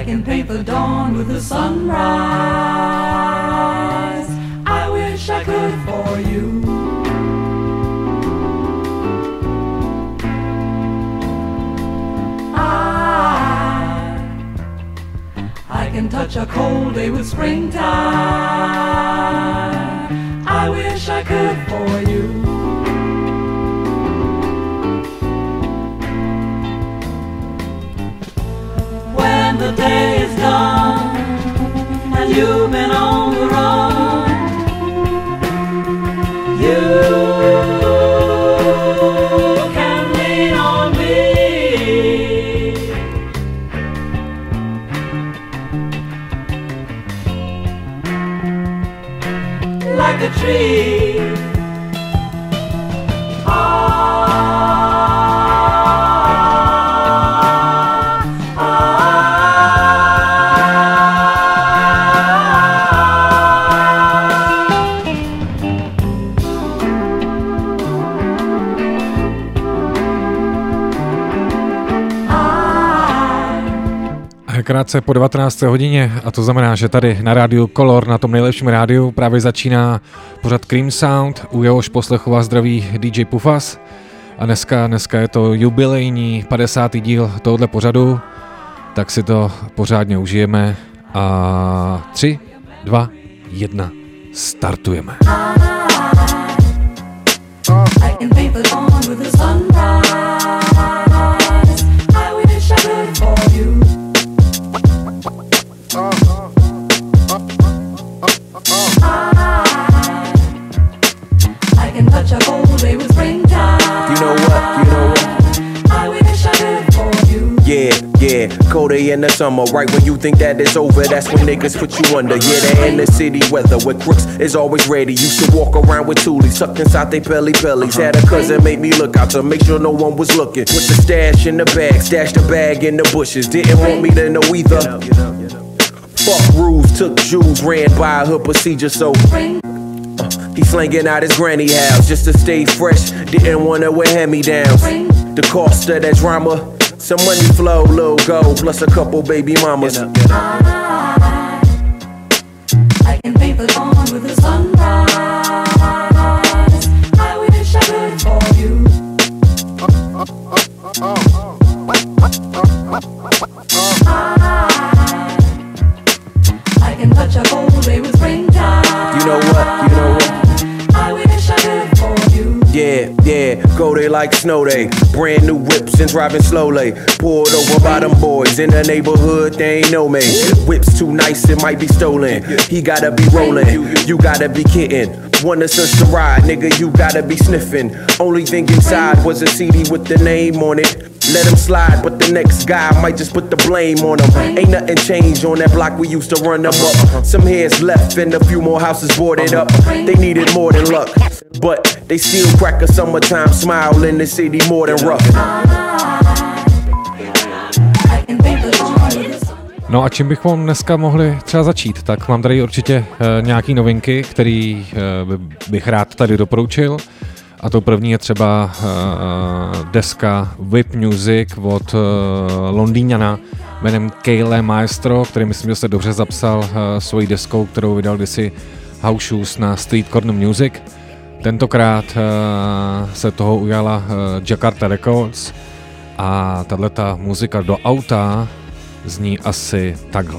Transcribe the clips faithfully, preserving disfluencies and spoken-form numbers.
can paint the dawn with the sunrise. I wish I could for you. I, I can touch a cold day with springtime. I wish I could for you. When the day is done and you've been on the run, you can lean on me like a tree. Krátce po devatenácté hodině, a to znamená, že tady na rádiu Color, na tom nejlepším rádiu, právě začíná pořad Cream Sound, u jehož poslechu vás zdraví D J Pufas. A dneska, dneska je to jubilejní padesátý díl tohoto pořadu, tak si to pořádně užijeme a tři, dva, jedna, startujeme. Colder in the summer, right when you think that it's over, that's when niggas put you under. Yeah, they're in the city weather where crooks is always ready. Used to walk around with toolies tucked inside they belly bellies. Had a cousin make me look out to make sure no one was looking. Put the stash in the bag, stash the bag in the bushes. Didn't want me to know either. Fuck rules, took Jews, ran by her procedure, so uh, he slanging out his granny house just to stay fresh. Didn't wanna wear hand-me-downs. The cost of that drama, some money flow, little gold, plus a couple baby mamas. I, I can paint the dawn with the sunrise. I wish I could for you. I, I can touch a cold day with springtime. You know what? You know what? I wish I could for you. Yeah, yeah, go they like snow day. Brand new whips and driving slowly. Pulled over by them boys in the neighborhood, they ain't know me. Whips too nice, it might be stolen. He gotta be rolling, you gotta be kidding. Want us to ride, nigga, you gotta be sniffing. Only thing inside was a C D with the name on it. Let him slide, but the next guy might just put the blame on him. Ain't nothing changed on that block, we used to run them up. Some heads left and a few more houses boarded up. They needed more than luck, but they still crack a summertime smile in the city more than rough. No a čím bychom dneska mohli třeba začít? Tak mám tady určitě uh, nějaký novinky, který uh, bych rád tady doporučil. A to první je třeba uh, deska Whip Music od uh, Londýňana jménem Kale Maestro, který myslím, že se dobře zapsal uh, svojí deskou, kterou vydal kdysi House Shoes na Street Corner Music. Tentokrát uh, se toho ujala uh, Jakarta Records a tato muzika do auta zní asi takhle.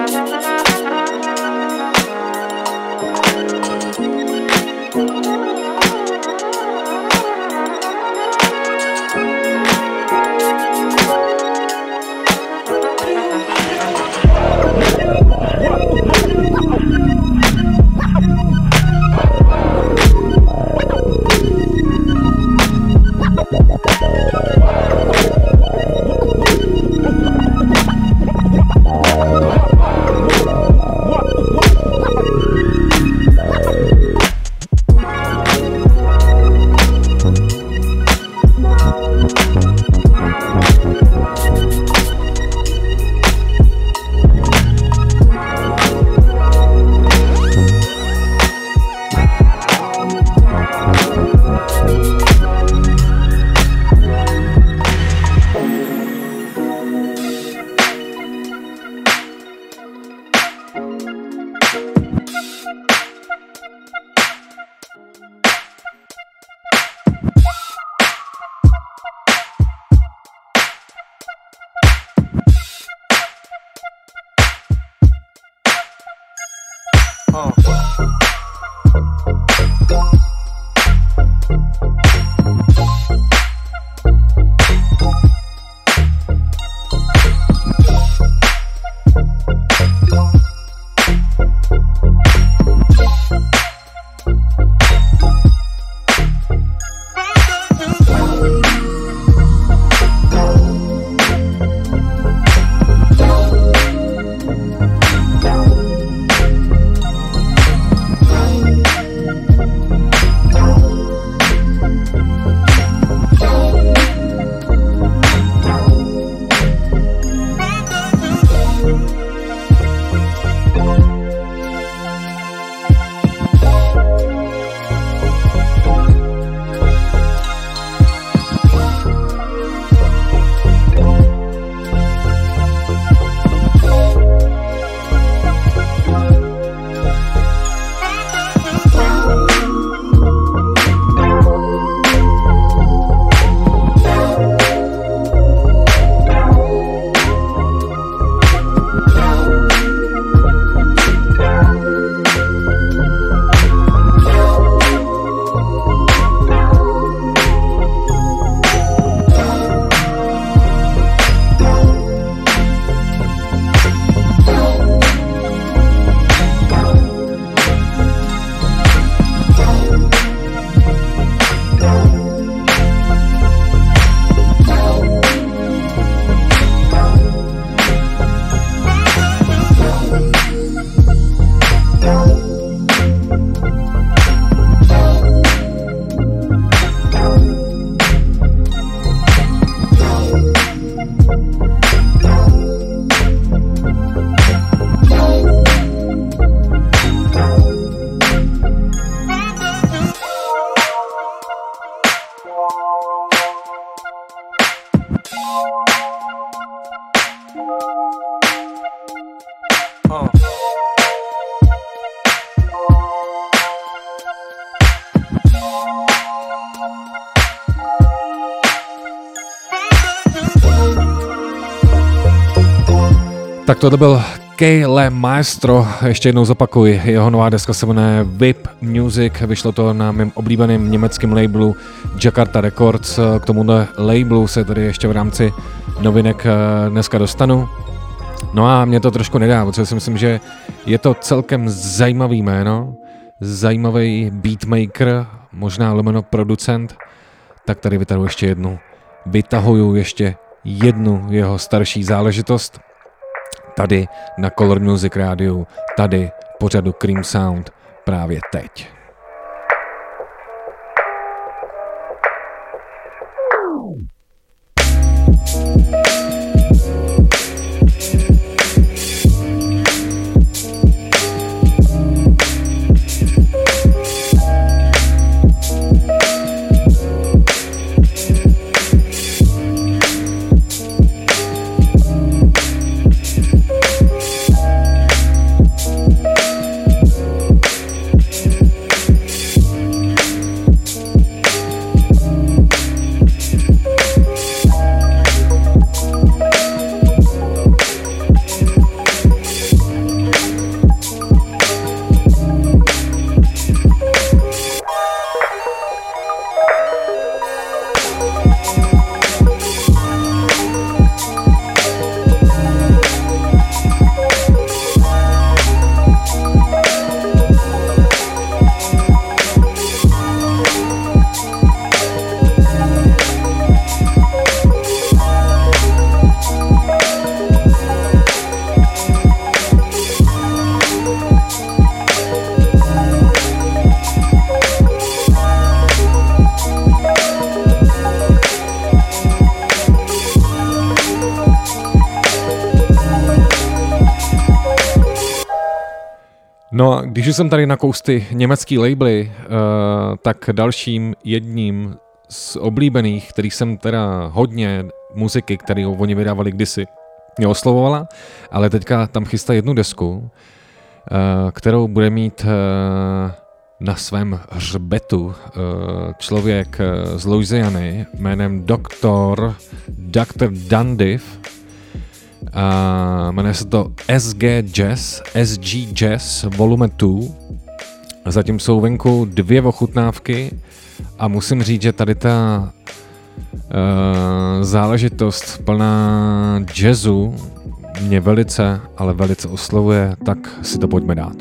Tak tohle byl Kale Maestro, ještě jednou zopakuj, jeho nová deska se jmenuje V I P Music, vyšlo to na mém oblíbeném německém labelu Jakarta Records, k tomuhle labelu se tady ještě v rámci novinek dneska dostanu. No a mě to trošku nedá, protože si myslím, že je to celkem zajímavý jméno, zajímavý beatmaker, možná lomeno producent, tak tady vytahuji ještě jednu, vytahuju ještě jednu jeho starší záležitost, tady na Color Music rádiu, tady pořadu Cream Sound právě teď. No a když už jsem tady na kousty německý labely, uh, tak dalším jedním z oblíbených, který jsem teda hodně muziky, kterou oni vydávali kdysi, mě oslovovala, ale teďka tam chystá jednu desku, uh, kterou bude mít uh, na svém hřbetu uh, člověk uh, z Louisiany jménem doktor doktor Dundiff. A jmenuje se to S G Jazz, S G Jazz Volume dva. Zatím jsou venku dvě ochutnávky a musím říct, že tady ta uh, záležitost plná jazzu mě velice, ale velice oslovuje, tak si to pojďme dát.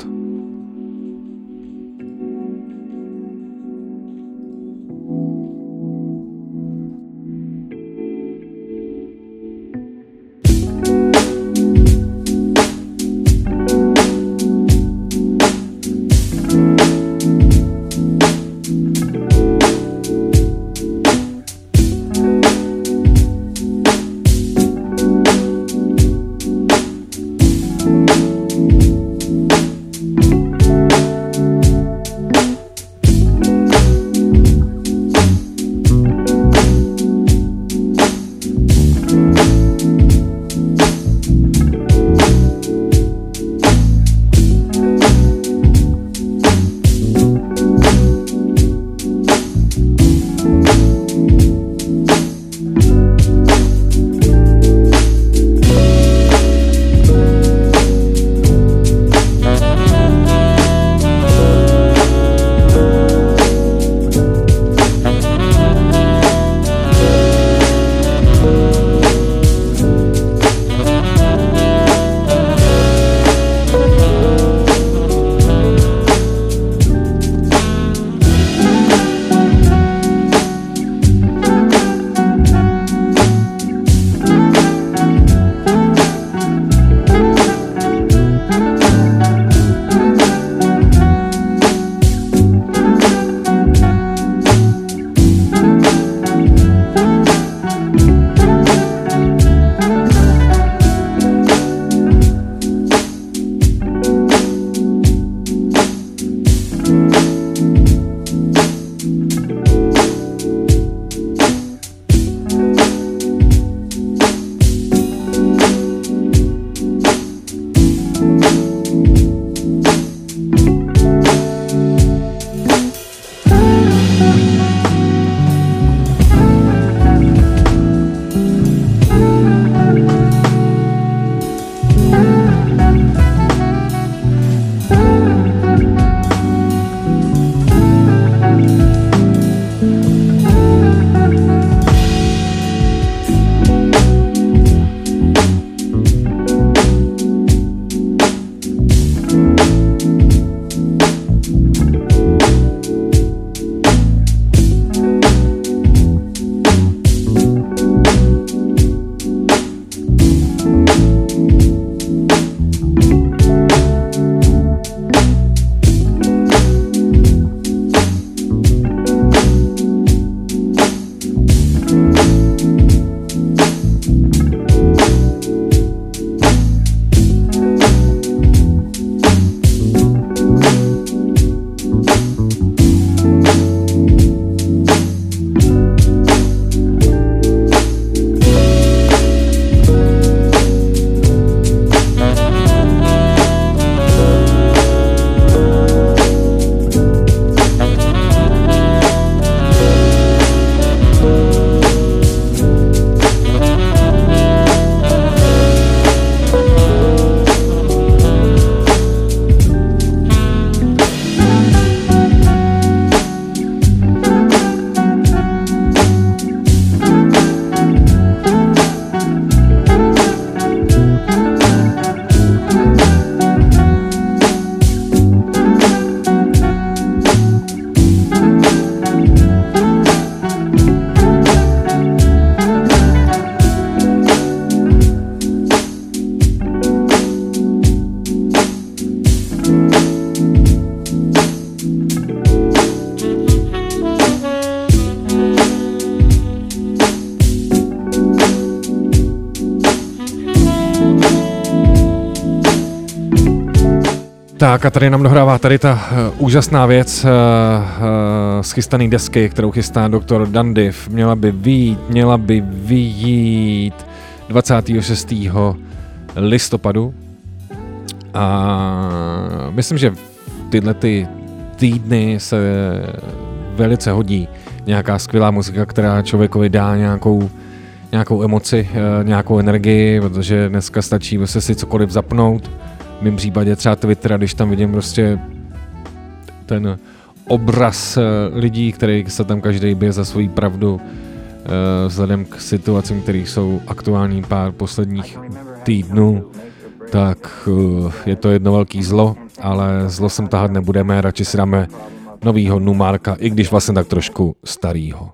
Tak a tady nám dohrává tady ta uh, úžasná věc uh, uh, z chystaný desky, kterou chystá doktor Dandiv. Měla by vyjít, měla by vyjít dvacátého šestého listopadu. A myslím, že tyhle ty týdny se velice hodí nějaká skvělá muzika, která člověkovi dá nějakou, nějakou emoci, uh, nějakou energii, protože dneska stačí vlastně si cokoliv zapnout. V mém případě třeba Twitter, když tam vidím prostě ten obraz lidí, který se tam každý bije za svoji pravdu vzhledem k situacím, které jsou aktuální pár posledních týdnů, tak je to jedno velký zlo, ale zlo sem tahat nebudeme, radši si dáme novýho Numarka, i když vlastně tak trošku starýho.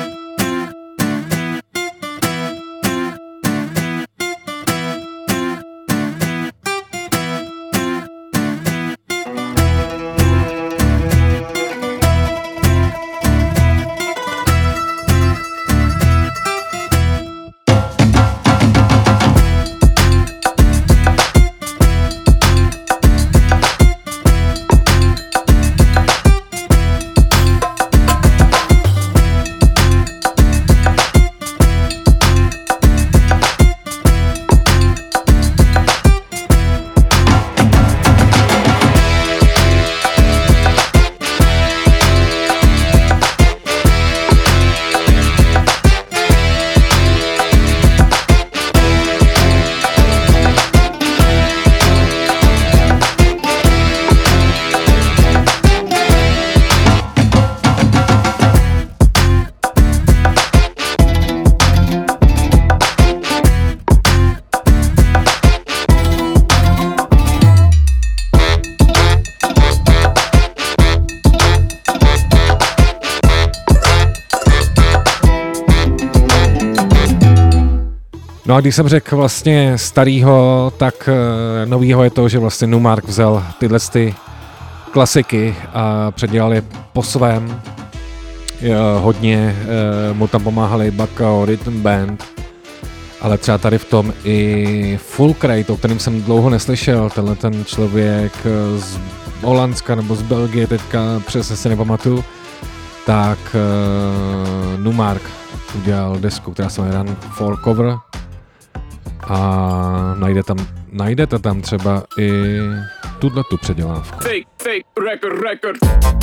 No a když jsem řekl vlastně starýho, tak e, novýho je to, že vlastně Numark vzal tyhle ty klasiky a předělal je po svém. E, hodně e, mu tam pomáhali Bakao Rhythm Band, ale třeba tady v tom i Fulcrate, o kterém jsem dlouho neslyšel, tenhle ten člověk z Holandska nebo z Belgie, teďka přesně si nepamatuju, tak e, Numark udělal desku, která se jmenuje Run for Cover. A najde tam, najdete tam třeba i tuto předělávku. Fake, fake, record, record.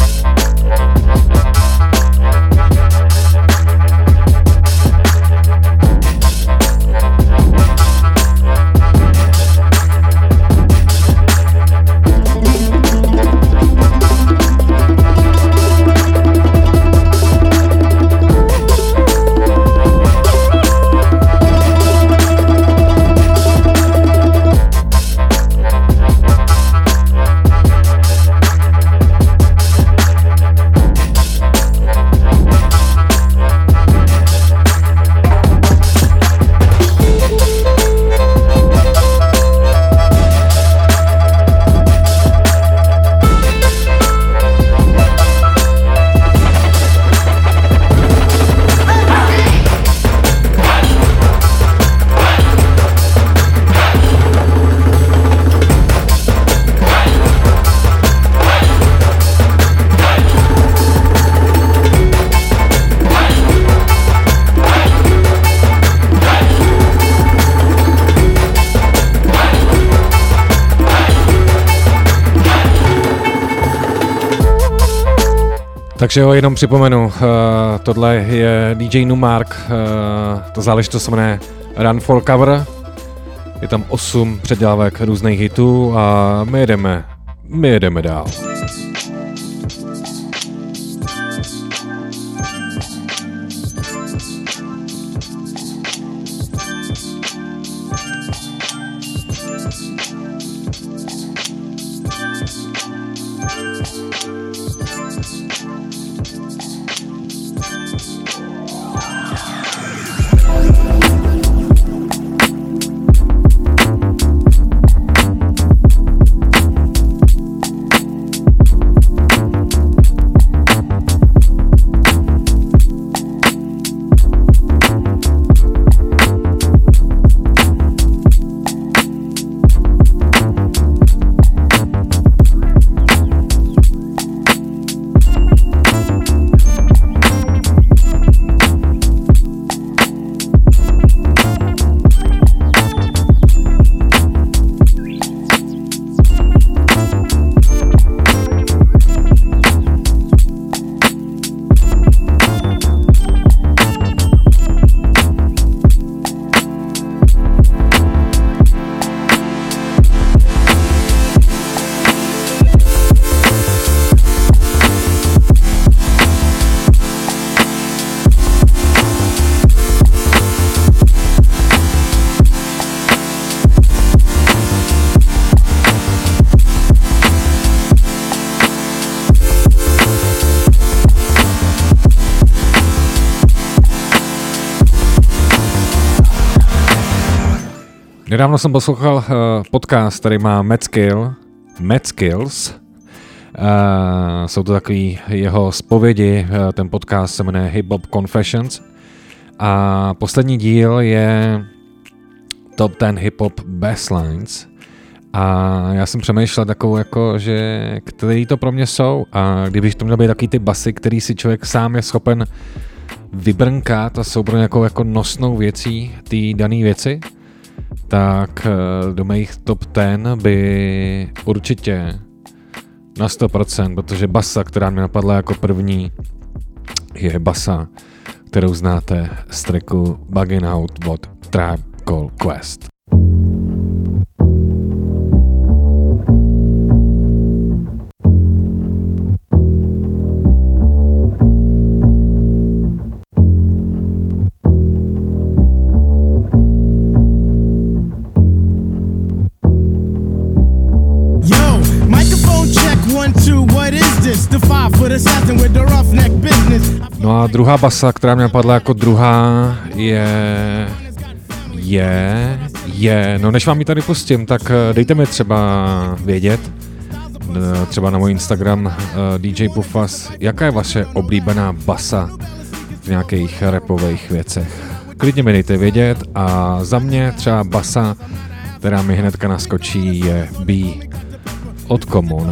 Takže jo, jenom připomenu, uh, tohle je D J Numark, uh, ta záležitost se jmenuje Run for Cover, je tam osm předělávek různých hitů a my jedeme, my jedeme dál. Nedávno jsem poslouchal uh, podcast, který má Mad Skill, Mad Skills. Uh, jsou to takový jeho zpovědi, uh, ten podcast se jmenuje Hip Hop Confessions. A poslední díl je Top ten Hip Hop Basslines. A já jsem přemýšlel takovou, jako, že který to pro mě jsou. A kdybych to měl být takový ty basy, který si člověk sám je schopen vybrnkat a jsou pro nějakou jako nosnou věcí té dané věci, tak do mých top ten by určitě na sto procent, protože basa, která mě napadla jako první, je basa, kterou znáte z tracku Buggin' Out od Tribe Called Quest. No a druhá basa, která mě napadla jako druhá, je, je, je, no než vám ji tady pustím, tak dejte mi třeba vědět, třeba na můj Instagram D J Pufas, jaká je vaše oblíbená basa v nějakých rapových věcech. Klidně mi dejte vědět a za mě třeba basa, která mi hnedka naskočí, je B od Common.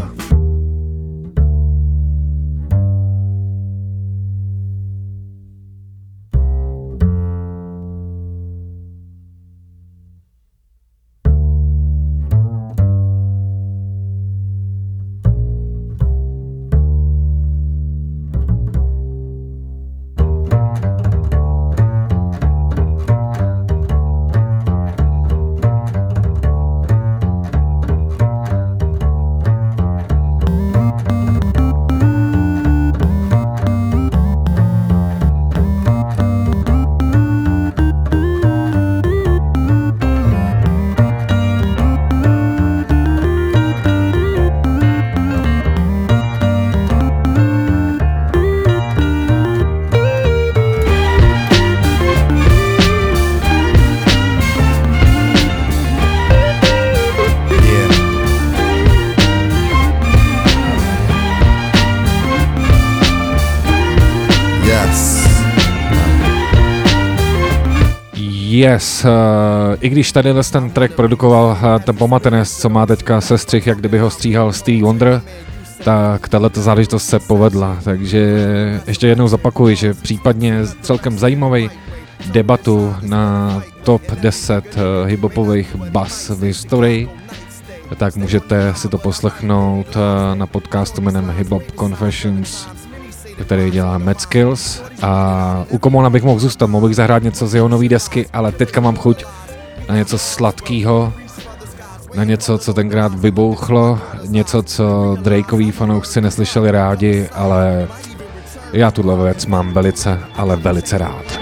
Yes, uh, i když tady ten track produkoval uh, ten Pomatenes, co má teďka sestřih, jak kdyby ho stříhal Stevie Wonder, tak tato záležitost se povedla, takže ještě jednou zapakuji, že případně celkem zajímavý debatu na top deset uh, hiphopových bas v historii, tak můžete si to poslechnout uh, na podcastu jménem Hip Hop Confessions, který dělá Mad Skills, a u Commona bych mohl zůstat, mohl bych zahrát něco z jeho nový desky, ale teďka mám chuť na něco sladkýho, na něco, co tenkrát vybouchlo, něco, co Drakeoví fanoušci neslyšeli rádi, ale já tuhle věc mám velice, ale velice rád.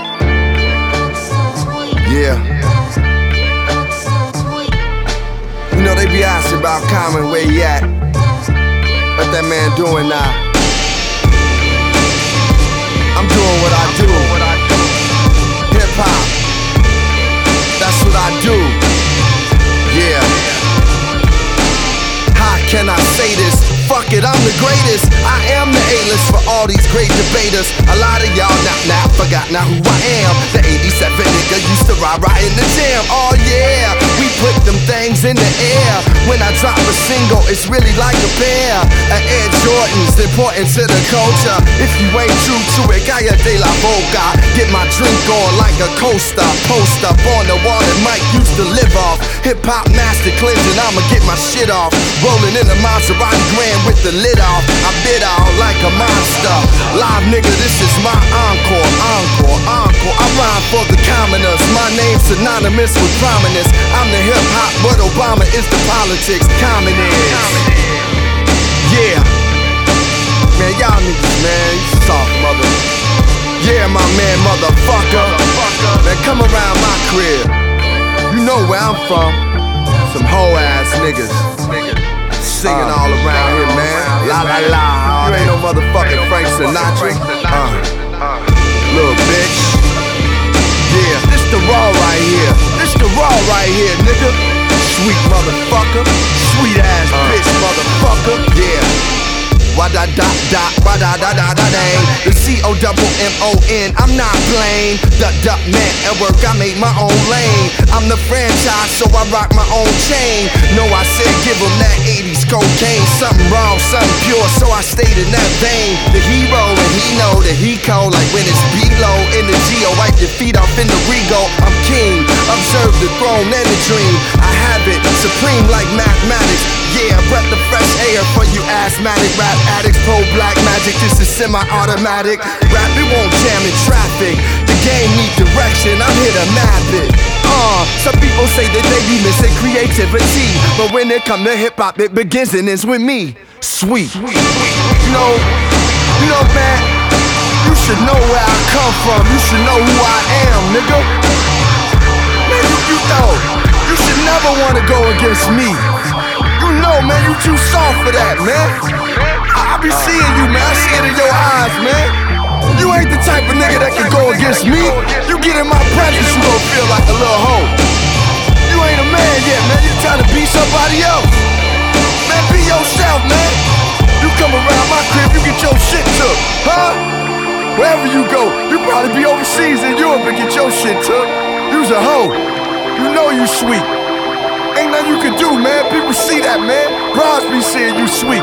Yeah. You know they be asking about Common, where he at? What that man doing now? I'm doing what I do. Hip hop. That's what I do. Yeah. How can I say this? Fuck it, I'm the greatest. I am the A-list for all these great debaters. A lot of y'all now, now forgot now who I am. The eighty-seven nigga used to ride right in the jam. Oh yeah, we put them things in the air. When I drop a single, it's really like a pair of Air Jordans, important to the culture. If you ain't true to it, Gaia de la Boca. Get my drink on like a coaster. Post up on the wall that Mike used to live off. Hip hop master cleansing, I'ma get my shit off. Rolling in a Maserati Grand with the lid off. I bit out like a monster. Live nigga, this is my encore, encore, encore. I rhyme for the commoners. My name's synonymous with prominence. I'm the hip hop, but Obama is the politics. Common is. Yeah. Man, y'all niggas, man, you soft mother. Yeah, my man, motherfucker. Man, come around my crib. You know where I'm from. Some hoe ass niggas. Singing all around here, man. La la la. You ain't no motherfucking Frank Sinatra. Uh, little bitch. Yeah. the raw right here. This the raw right here, nigga. Sweet motherfucker. Sweet ass bitch motherfucker. Yeah. Why da da da, why da da da da dang. The C O double M O N, I'm not playing. Duck duck man at work, I make my own lane. I'm the franchise, so I rock my own chain. No, I said give him that eighties cocaine. Something wrong, something pure, so I stayed in that vein. The hero, and he know that he cold. Like when it's below in the Geo, wipe your feet off in the Rego. I'm king, observe the throne and the dream. I have it, supreme like mathematics. Yeah, breath of fresh air for you asthmatic rap addicts. Pro black magic, this is semi-automatic. Rap, it won't jam in traffic. The game need direction, I'm here to map it. Uh, some people say that they be missing creativity, but when it come to hip-hop, it begins and ends with me. Sweet. You know, you know, man, you should know where I come from. You should know who I am, nigga. Man, you, you know, you should never wanna go against me. You know, man, you too soft for that, man. I, I be seeing you, man. I see it in your eyes, man. You ain't the type of nigga that can go against me. You get in my presence, you gon' feel like a little hoe. You ain't a man yet, man. You trying to be somebody else. Man, be yourself, man. You come around my crib, you get your shit took, huh? Wherever you go, you probably be overseas in Europe and get your shit took. You's a hoe. You know you sweet. Ain't nothing you can do, man. People see that, man. Bros be seeing you sweet.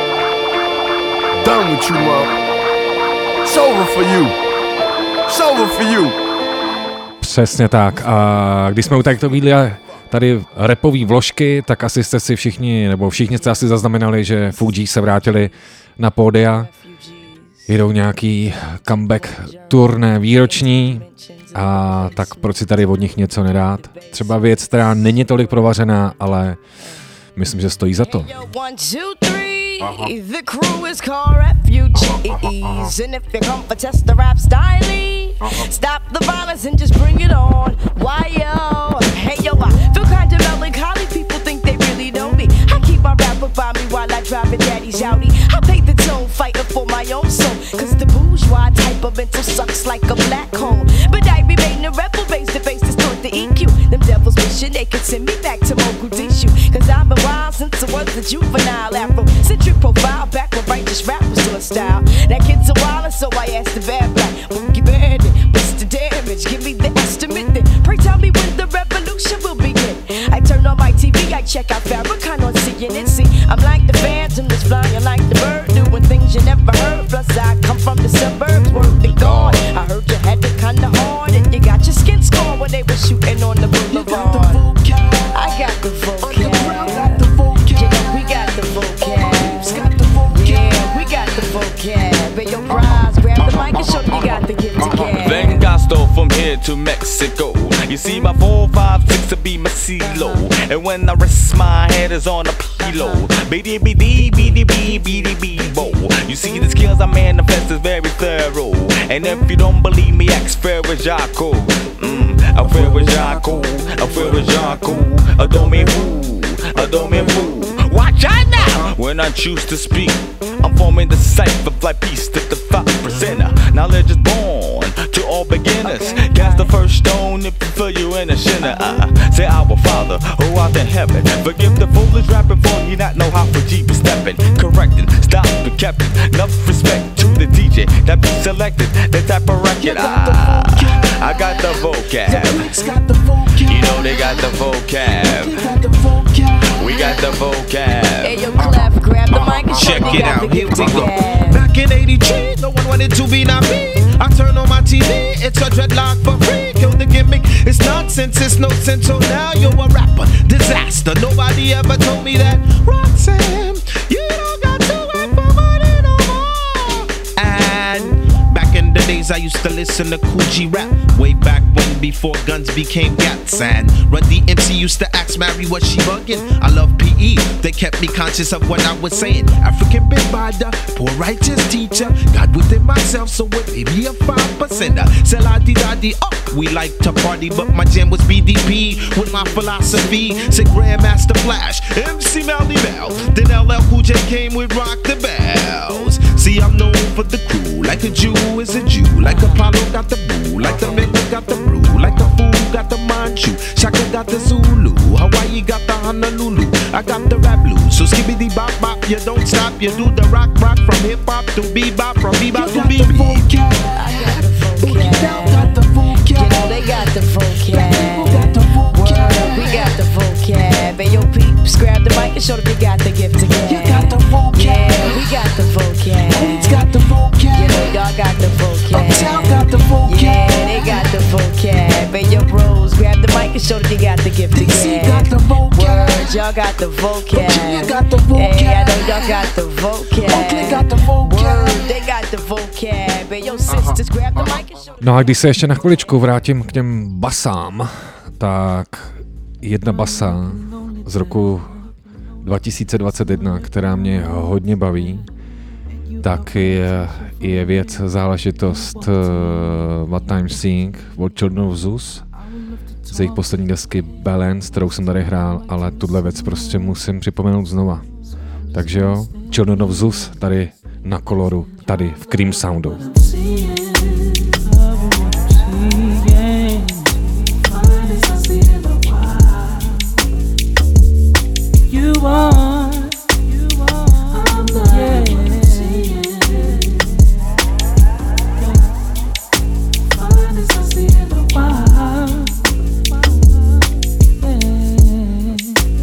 Done with you, mom. It's over for you. It's over for you. Přesně tak. A když jsme u takovýhle tady rapový vložky, tak asi jste si všichni, nebo všichni jste asi zaznamenali, že Fugees se vrátili na pódia. Jedou nějaký comeback turné výroční. A tak proč si tady od nich něco nedát? Třeba věc, která není tolik provařená, ale myslím, že stojí za to. Uh-huh. The crew is called refugees, and if you come for test the rap style, uh-huh. Stop the violence and just bring it on. Why yo? Hey yo, I feel kinda melancholy. People think they really know me. I keep my rapper by me while I drive a daddy's Audi. I pay the toll, fighting for my own soul. Cause the bourgeois type of mental sucks like a black hole. But I remain a rebel, base to base, distort the E Q. Them devils wishing they could send me back to Mogadishu. Cause I've been wild since I was a juvenile Afro. Profile back when righteous rap was doing style. That kid's a wilder, so I asked the bad black, Boogie Bandit, what's the damage? Give me the estimate then. Pray tell me when the revolution will begin. I turn on my T V, I check out Farrakhan on C N N. See, I'm like the phantom that's flying like the bird, doing things you never heard. Plus I come from the suburbs, worth it gone. I heard you had it kinda hard, and you got your skin scorn when they were shooting on the boulevard. I got the vocab. Yeah, we got the vocab. Vengasto from here to Mexico. You see my four, five, six to be my CeeLo. And when I rest my head is on a pillow. Beady beady beady beady beady beebo. You see the skills I manifest is very thorough. And if you don't believe me, ask Ferrajaco. Mmm, I Ferrajaco, I Ferrajaco. Adore me who, adore me who. Watch out now! When I choose to speak, I'm forming the cipher like peace to the five percenter. Knowledge is born to all beginners. Okay. Cast the first stone if you feel you in a sinner. Uh, say our Father who art in heaven. Forgive the foolish rapping for you not know how for G be stepping. Correcting, stop the captain. Enough respect to the D J that be selected. The type of record. Ah, I got the vocab. You know they got the vocab. We got the vocab. Hey, yo, Clef, grab the mic and check it out. Here we go. Back in eighty-three, no one wanted to be not me. I turn on my T V, it's a dreadlock for free. Kill the gimmick, it's nonsense, it's no sense. So now you're a rapper, disaster. Nobody ever told me that. Roxanne, you don't got to work for money no more. And back in the days, I used to listen to Kool G rap. Way back when, before guns became gats. And Run D M C used to ask Mary, was she bugging? I love P E, they kept me conscious of what I was saying. African big bada, poor righteous teacher. God within myself, so it may be a five percenter. Sell la di da di, oh, we like to party, but my jam was B D P with my philosophy. Say Grandmaster Flash, M C Melly Bell. Then L L Cool J came with Rock the Bells. See, I'm known for the crew, like a Jew is a Jew. Like Apollo got the boo, like the Maker got the brew, like a fool Manchu, Shaka got the Zulu, Hawaii got the Honolulu, I got the rap blues. So skibbity bop bop, you don't stop, you do the rock rock from hip hop to bebop, from bebop to bebop. I got the vocab. Got the vocab. You know they got the vocab. Got the vocab. Word, we got the vocab. And yo peeps, grab the mic and show them they got the gift to give. You got the vocab. Yeah, we got the vocab. Queens got the vocab. You know y'all got the vocab. Uptown got the vocab. Yeah, they got the vocab. And yo bros, grab the mic and show them they got the gift to give. Got the vocab. Word, y'all got the vocab. Virginia got the vocab. Hey, I know y'all got the vocab. Oakland got the vocab. Word, they got the vocab. And yo sisters, grab the mic and show them. No a když se ještě na chviličku vrátím k těm basám, tak jedna basa z roku dva tisíce dvacet jedna, která mě hodně baví, tak je, je věc, záležitost uh, What I'm Seeing od Children of Zeus z jejich poslední desky Balance, kterou jsem tady hrál, ale tuhle věc prostě musím připomenout znova. Takže jo, Children of Zeus tady na Koloru, tady v Cream Soundu. You are, you are, I'm the yeah. Fine as I see in the wild. Yeah.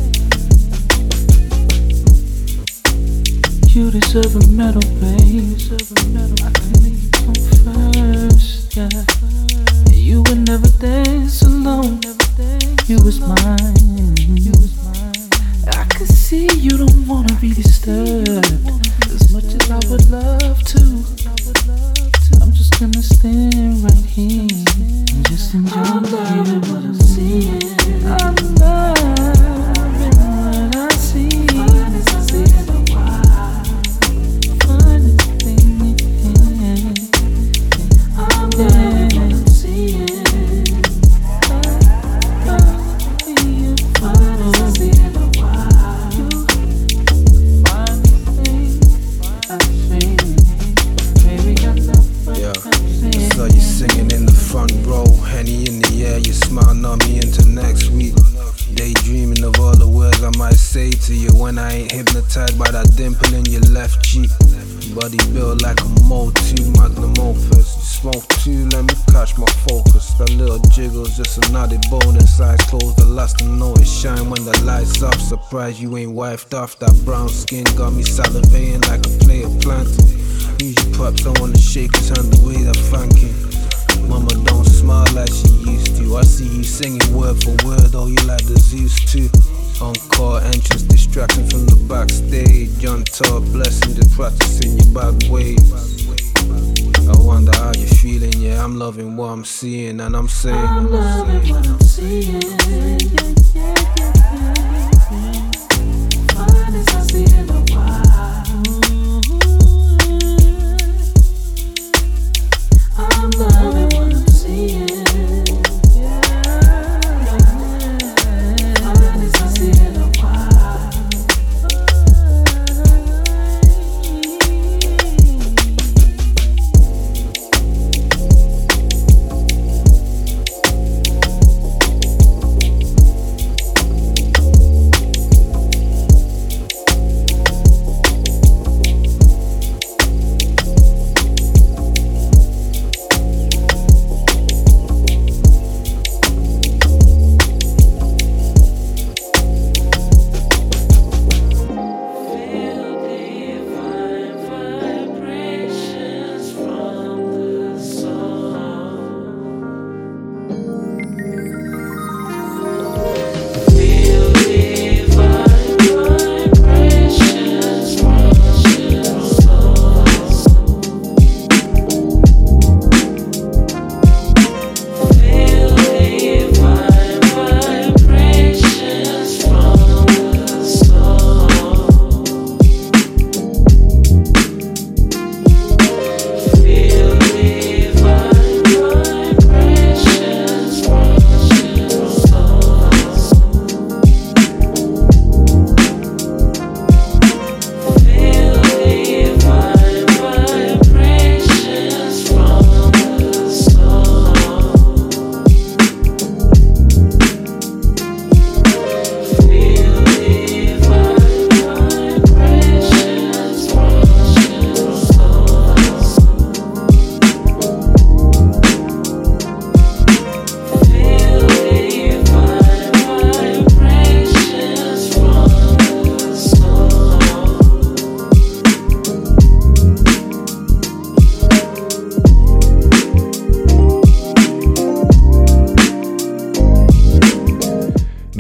You deserve a medal, babe. I can make you come first, yeah. You would never dance alone. You was mine. You was mine. I could see you don't wanna be disturbed as much as I would love to. I'm just gonna stand right here and just enjoy you. What I'm seeing, I'm loving what I see. Fine as I see in the wild, finest thing in. I'm loving what I'm seeing. Fine as I see in the wild. Yeah, I saw you singing in the front row, Henny in the air, you smiling on me into next week. Daydreaming of all the words I might say to you when I ain't hypnotized by that dimple in your left cheek. Body built like a multi magnum opus. You smoke too, let me catch my focus. That little jiggle's just a naughty bonus. Eyes closed, the last to know it shine when the lights off. Surprised you ain't wifed off. That brown skin got me salivating like a play of planting. Use your pups, I wanna shake his hand the way that thanking. Mama don't smile like she used to. I see you singing word for word, oh you like the Zeus too. Encore entrance, distraction from the backstage. On top, blessing, just practicing your bad ways. I wonder how you're feeling, yeah, I'm loving what I'm seeing, and I'm saying I'm loving what I'm seeing, yeah, yeah, yeah, yeah. Fine as I see in the wild. I'm loving what I'm seeing.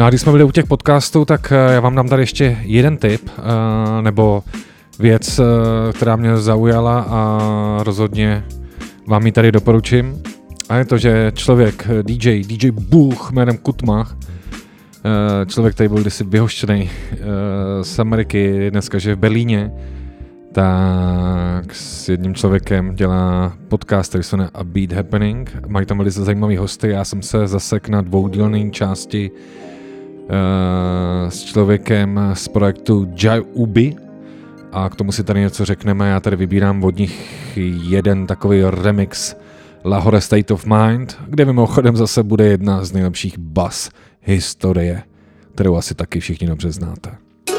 když jsme byli u těch podcastů, tak já vám dám tady ještě jeden tip, nebo věc, která mě zaujala a rozhodně vám ji tady doporučím. A je to, že člověk, D J, D J Bůh jménem Kutmach, člověk, který byl kdysi vyhoštěný z Ameriky, dneska žije v Berlíně, tak s jedním člověkem dělá podcast, který se jmenuje A Beat Happening. Mají tam velice zajímavý hosty. Já jsem se zasek na dvoudílné části uh, s člověkem z projektu Jaubi a k tomu si tady něco řekneme. Já tady vybírám od nich jeden takový remix Lahore State of Mind, kde mimochodem zase bude jedna z nejlepších bas historie, kterou asi taky všichni dobře znáte.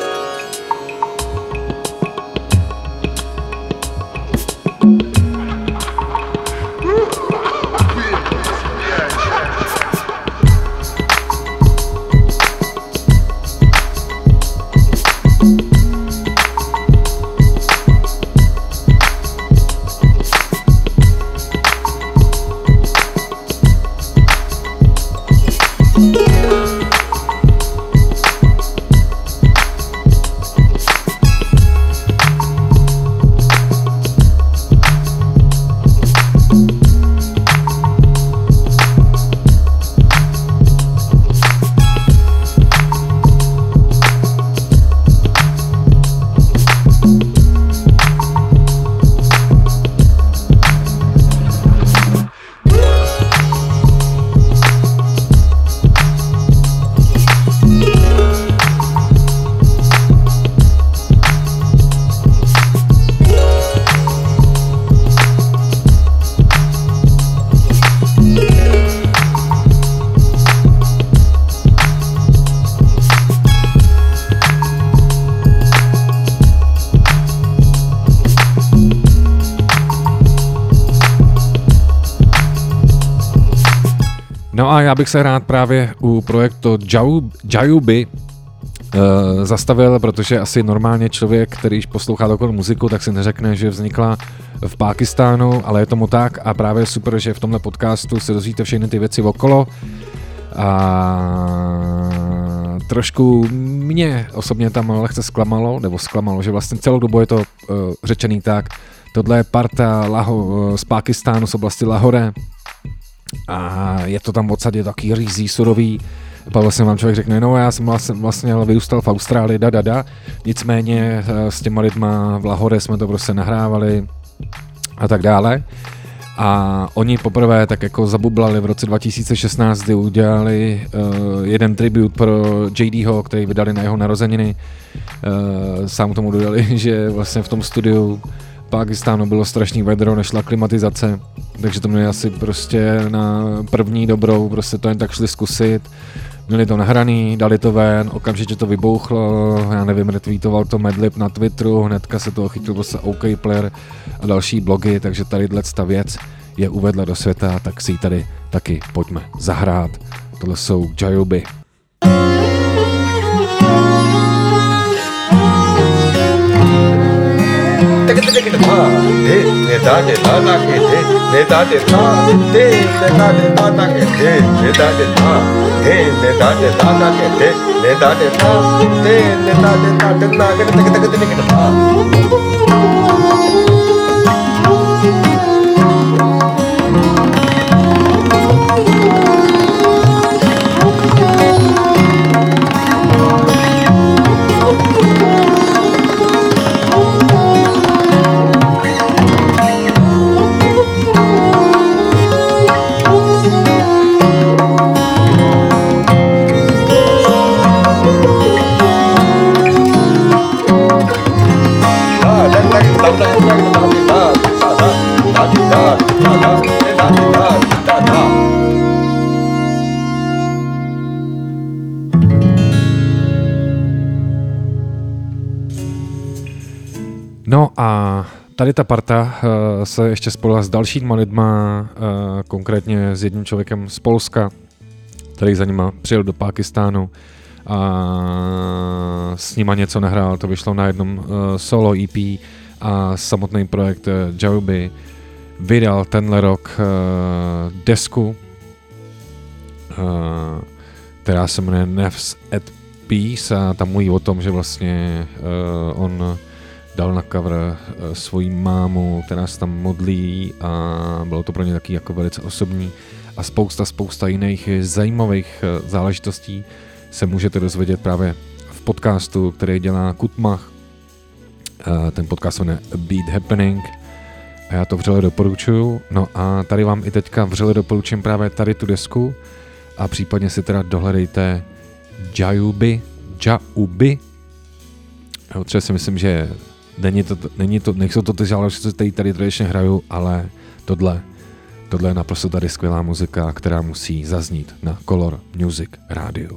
No a já bych se rád právě u projektu Jaubi uh, zastavil, protože asi normálně člověk, který poslouchá takovou muziku, tak si neřekne, že vznikla v Pákistánu, ale je tomu tak a právě super, že v tomhle podcastu se dozvíte všechny ty věci okolo a trošku mě osobně tam lehce zklamalo, nebo zklamalo, že vlastně celou dobu je to uh, řečený tak, tohle je parta Laho, z Pákistánu z oblasti Lahore, a je to tam v podstatě taky řízí, surový. Pak vlastně vám člověk řekne, no já jsem vlastně, vlastně vyrůstal v Austrálii, da, da, da. Nicméně s těma lidma v Lahore jsme to prostě nahrávali a tak dále. A oni poprvé tak jako zabublali v roce dva tisíce šestnáct, kdy udělali uh, jeden tribut pro J Dho, který vydali na jeho narozeniny. Uh, sám k tomu dodali, že vlastně v tom studiu Pákistánu bylo strašný vedro, nešla klimatizace, takže to měli asi prostě na první dobrou, prostě to jen tak šli zkusit. Měli to nahraný, dali to ven, okamžitě to vybouchlo, já nevím, retweetoval to Madlib na Twitteru, hnedka se toho chytil prostě OK Player a další blogy, takže tadyhle ta věc je uvedla do světa, tak si ji tady taky pojďme zahrát. Tohle jsou Jaubi. No a tady ta parta uh, se ještě spojila s dalšíma lidma, uh, konkrétně s jedním člověkem z Polska, který za nima přijel do Pákistánu a s nima něco nahrál, to vyšlo na jednom uh, solo E P a samotný projekt uh, Jaubi vydal tenhle rok uh, desku, uh, která se jmenuje Nefs at Peace a tam mluví o tom, že vlastně uh, on dal na cover uh, svoji mámu, která se tam modlí a bylo to pro ně taky jako velice osobní a spousta, spousta jiných zajímavých uh, záležitostí se můžete dozvědět právě v podcastu, který dělá Kutmach. Uh, ten podcast se jmenuje Beat Happening a já to vřele doporučuju. No a tady vám i teďka vřele doporučím právě tady tu desku a případně si teda dohledejte Jaubi, Jaubi. Jo, třeba si myslím, že není to, není to, nejsou to ty záležitosti, které tady tradičně hraju, ale tohle, tohle je naprosto tady skvělá muzika, která musí zaznít na Color Music rádiu.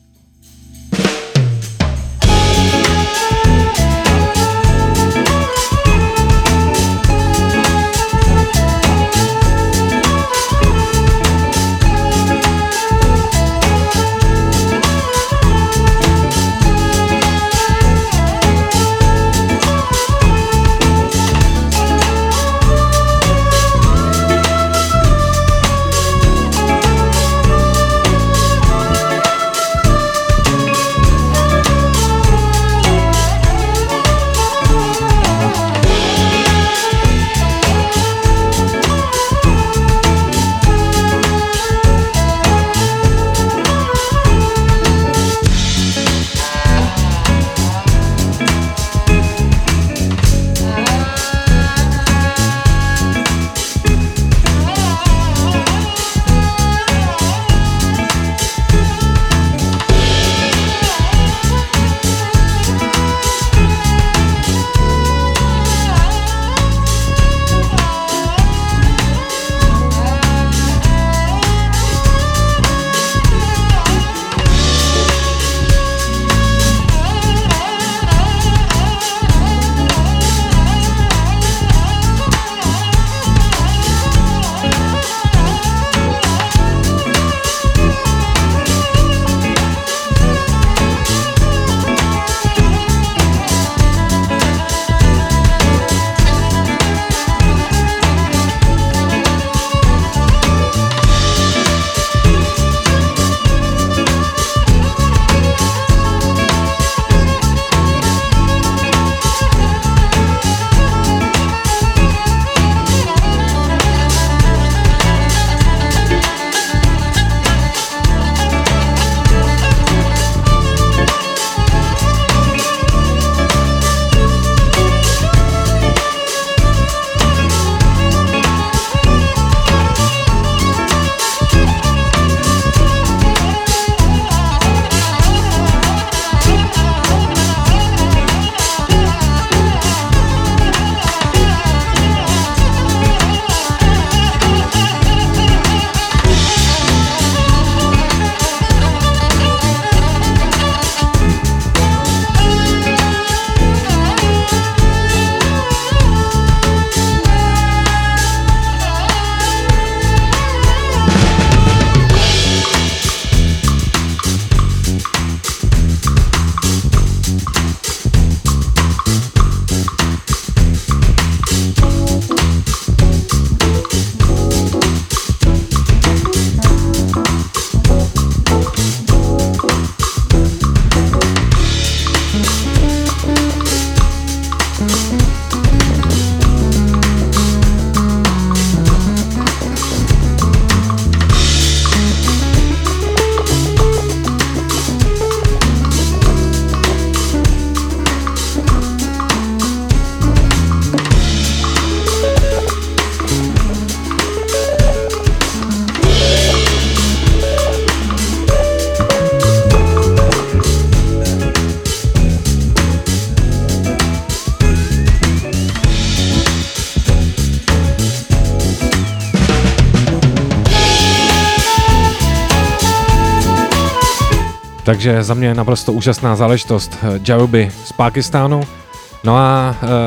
Takže za mě naprosto úžasná záležitost Jaubi z Pákistánu. No a e,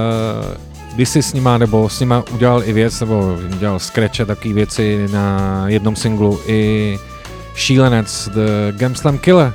když si s nima, nebo s nima udělal i věc, nebo dělal scratche, takové věci na jednom singlu i Šílenec The Gamslam Killer.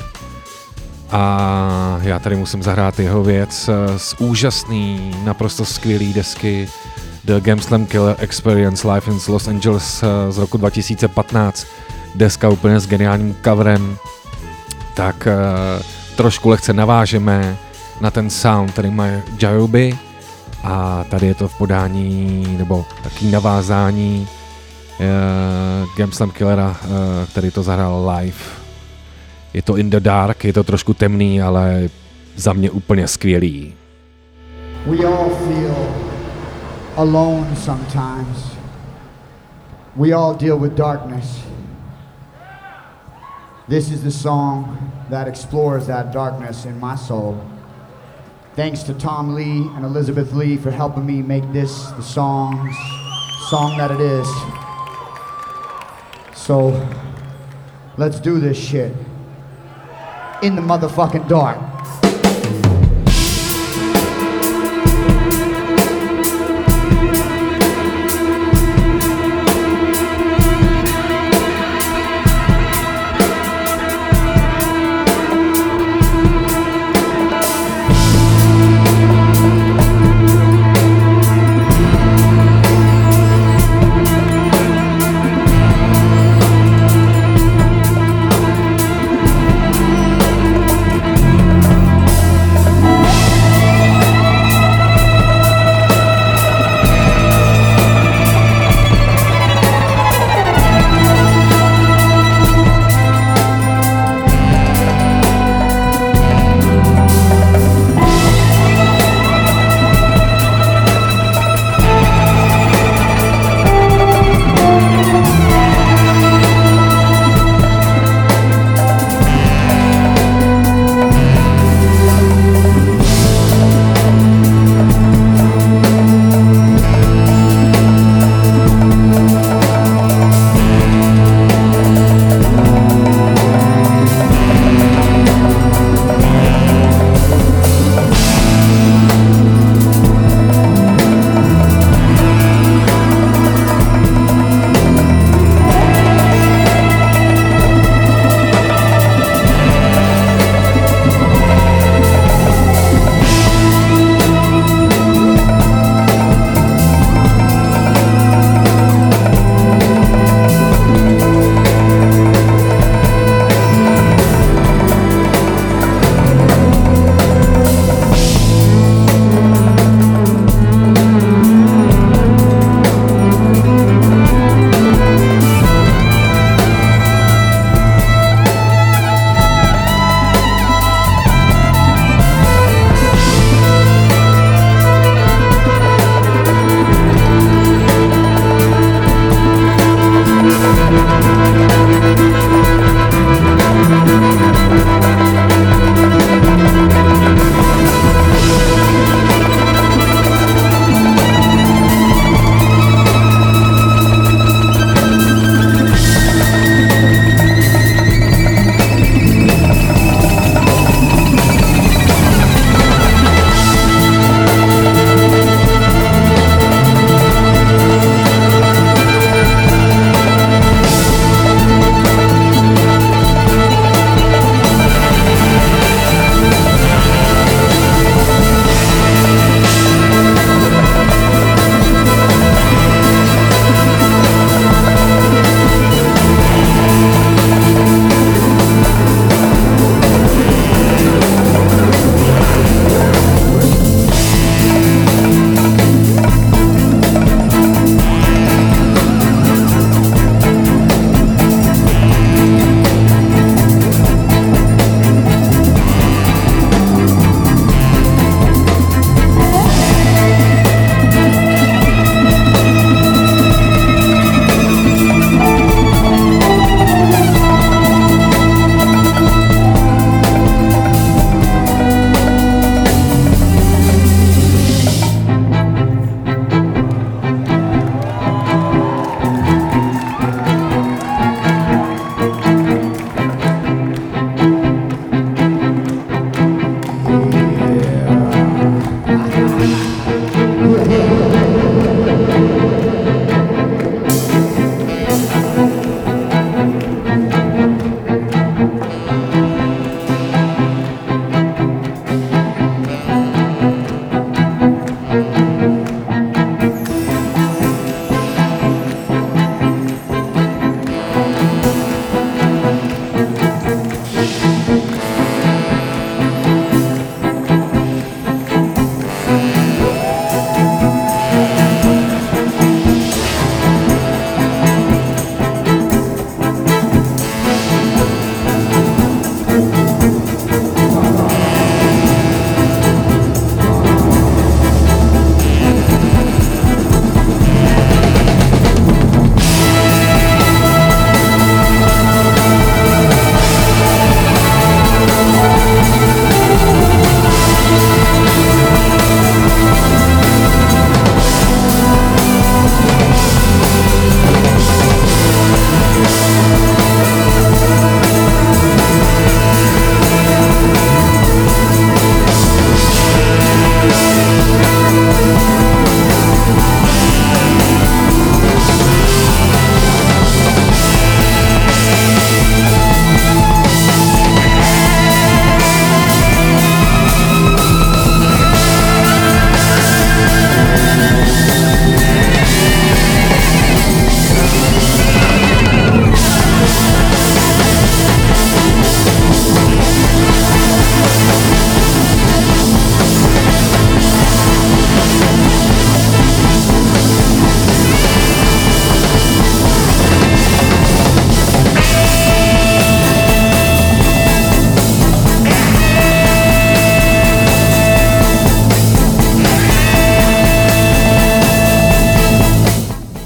A já tady musím zahrát jeho věc z úžasný, naprosto skvělý desky The Gamslam Killer Experience Live in Los Angeles z roku dva tisíce patnáct. Deska úplně s geniálním coverem tak uh, trošku lehce navážeme na ten sound, který má Jayobi, a tady je to v podání, nebo taký navázání uh, Gamslam Killera, uh, který to zahrál live. Je to In the Dark, je to trošku temný, ale za mě úplně skvělý. We all feel alone sometimes. We all deal with darkness. This is the song that explores that darkness in my soul. Thanks to Tom Lee and Elizabeth Lee for helping me make this the songs, song that it is. So, let's do this shit. In the motherfucking dark.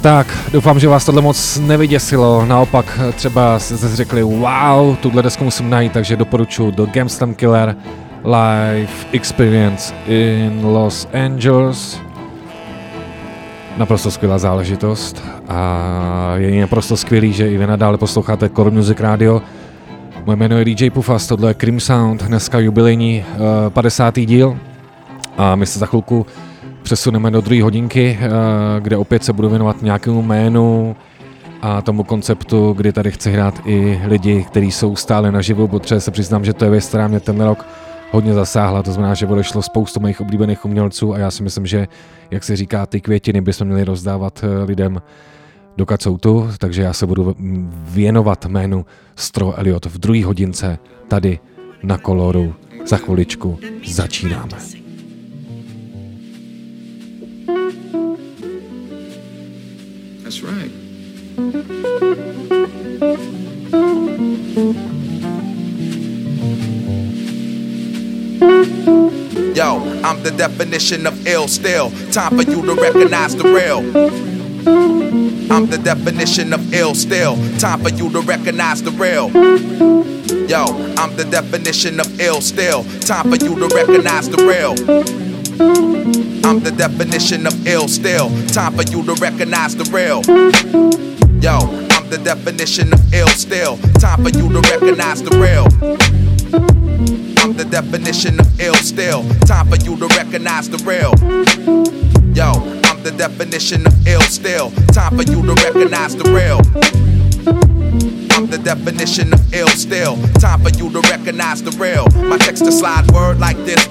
Tak, doufám, že vás tohle moc nevyděsilo, naopak třeba jste řekli wow, tuhle desku musím najít, takže doporučuji The Gamstam Killer Live Experience in Los Angeles. Naprosto skvělá záležitost a je naprosto skvělý, že i vy nadále posloucháte Core Music Radio. Moje jméno je D J Pufas, tohle je Cream Sound, dneska jubilejní uh, padesátý díl a my se za chvilku přesuneme do druhé hodinky, uh, kde opět se budu věnovat nějakému jménu a tomu konceptu, kdy tady chci hrát i lidi, kteří jsou stále naživu, protože se přiznám, že to je věc, která mě ten rok hodně zasáhla, to znamená, že odešlo spoustu mých oblíbených umělců a já si myslím, že, jak se říká, ty květiny bychom měli rozdávat lidem, dokud jsou tu, takže já se budu věnovat jménu Stro Elliot v druhé hodince tady na Koloru. Za chviličku začínáme. That's right. Yo, I'm the definition of ill still. Time for you to recognize the real. I'm the definition of ill still. Time for you to recognize the real. Yo, I'm the definition of ill still. Time for you to recognize the real. I'm the definition of ill still. Time for you to recognize the real. Yo, I'm the definition of ill still. Time for you to recognize the real. I'm the definition of ill still. Time for you to recognize the real. Yo, I'm the definition of ill still. Time for you to recognize the real. I'm the definition of ill still. Time for you to recognize the real. My text to slide word like this.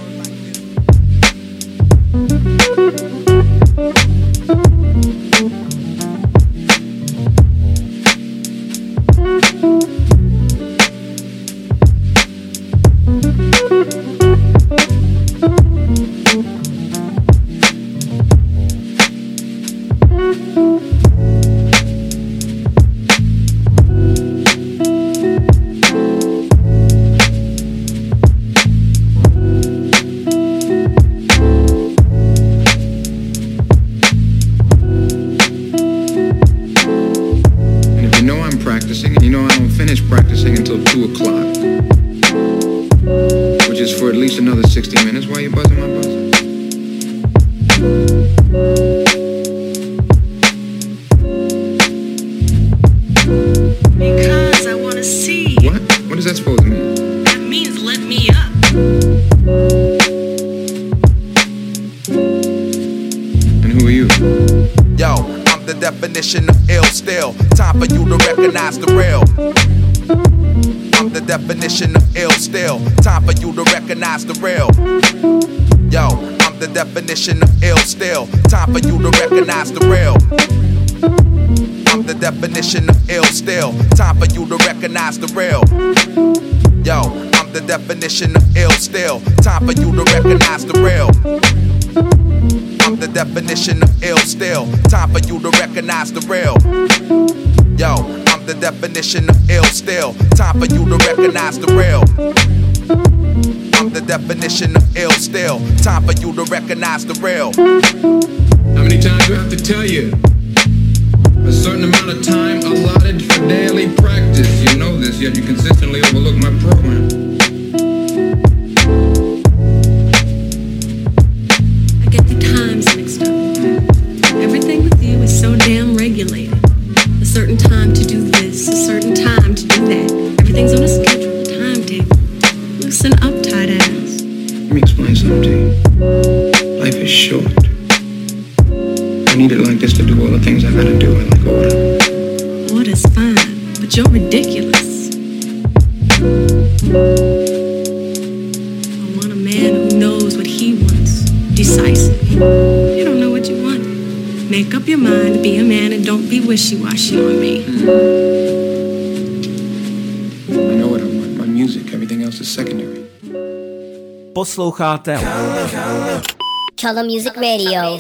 Definition of ill still. Time for you to recognize the real. I'm the definition of ill still. Time for you to recognize the real. Yo, I'm the definition of ill still. Time for you to recognize the real. I'm the definition of ill still. Time for you to recognize the real. Yo, I'm the definition of ill still. Time for you to recognize the real. I'm the definition of ill still. Time for you to recognize the real. Yo, I'm the definition of ill still. Time for you to recognize the real. I'm the definition of ill still. Time for you to recognize the real. How many times do I have to tell you? A certain amount of time allotted for daily practice. You know this, yet you consistently overlook my program. Mixed up. Everything with you is so damn regulated. A certain time to do this, a certain time to do that. Everything's on a schedule, a timetable. Loosen up, tight ass. Let me explain something to you. Life is short. I need it like this to do all the things I gotta do in like order. Order's fine, but you're ridiculous. I want a man who knows what he wants. Decisive. You don't know what you want. Make up your mind, be a man, and don't be wishy-washy on me. I know what I want. My music, everything else is secondary. Posloucháte Color Music Radio.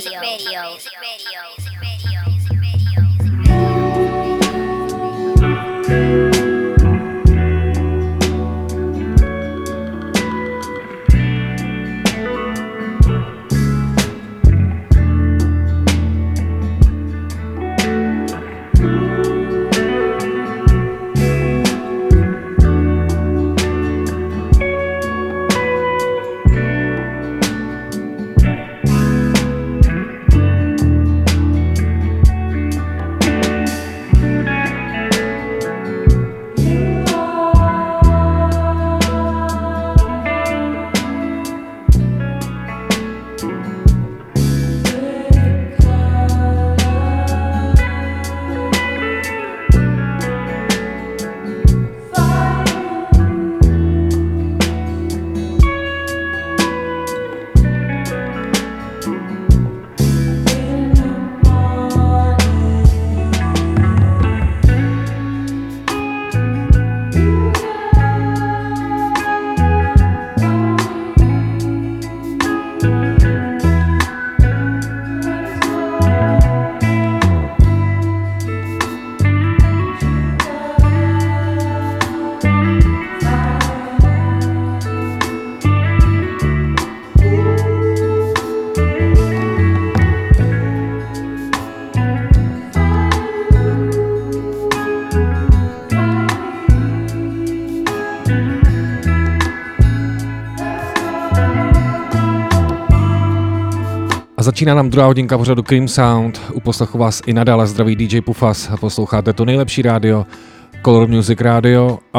začíná nám druhá hodinka pořadu Cream Sound. U poslechu vás i nadále zdraví D J Pufas. Posloucháte to nejlepší rádio, Color Music Radio. A,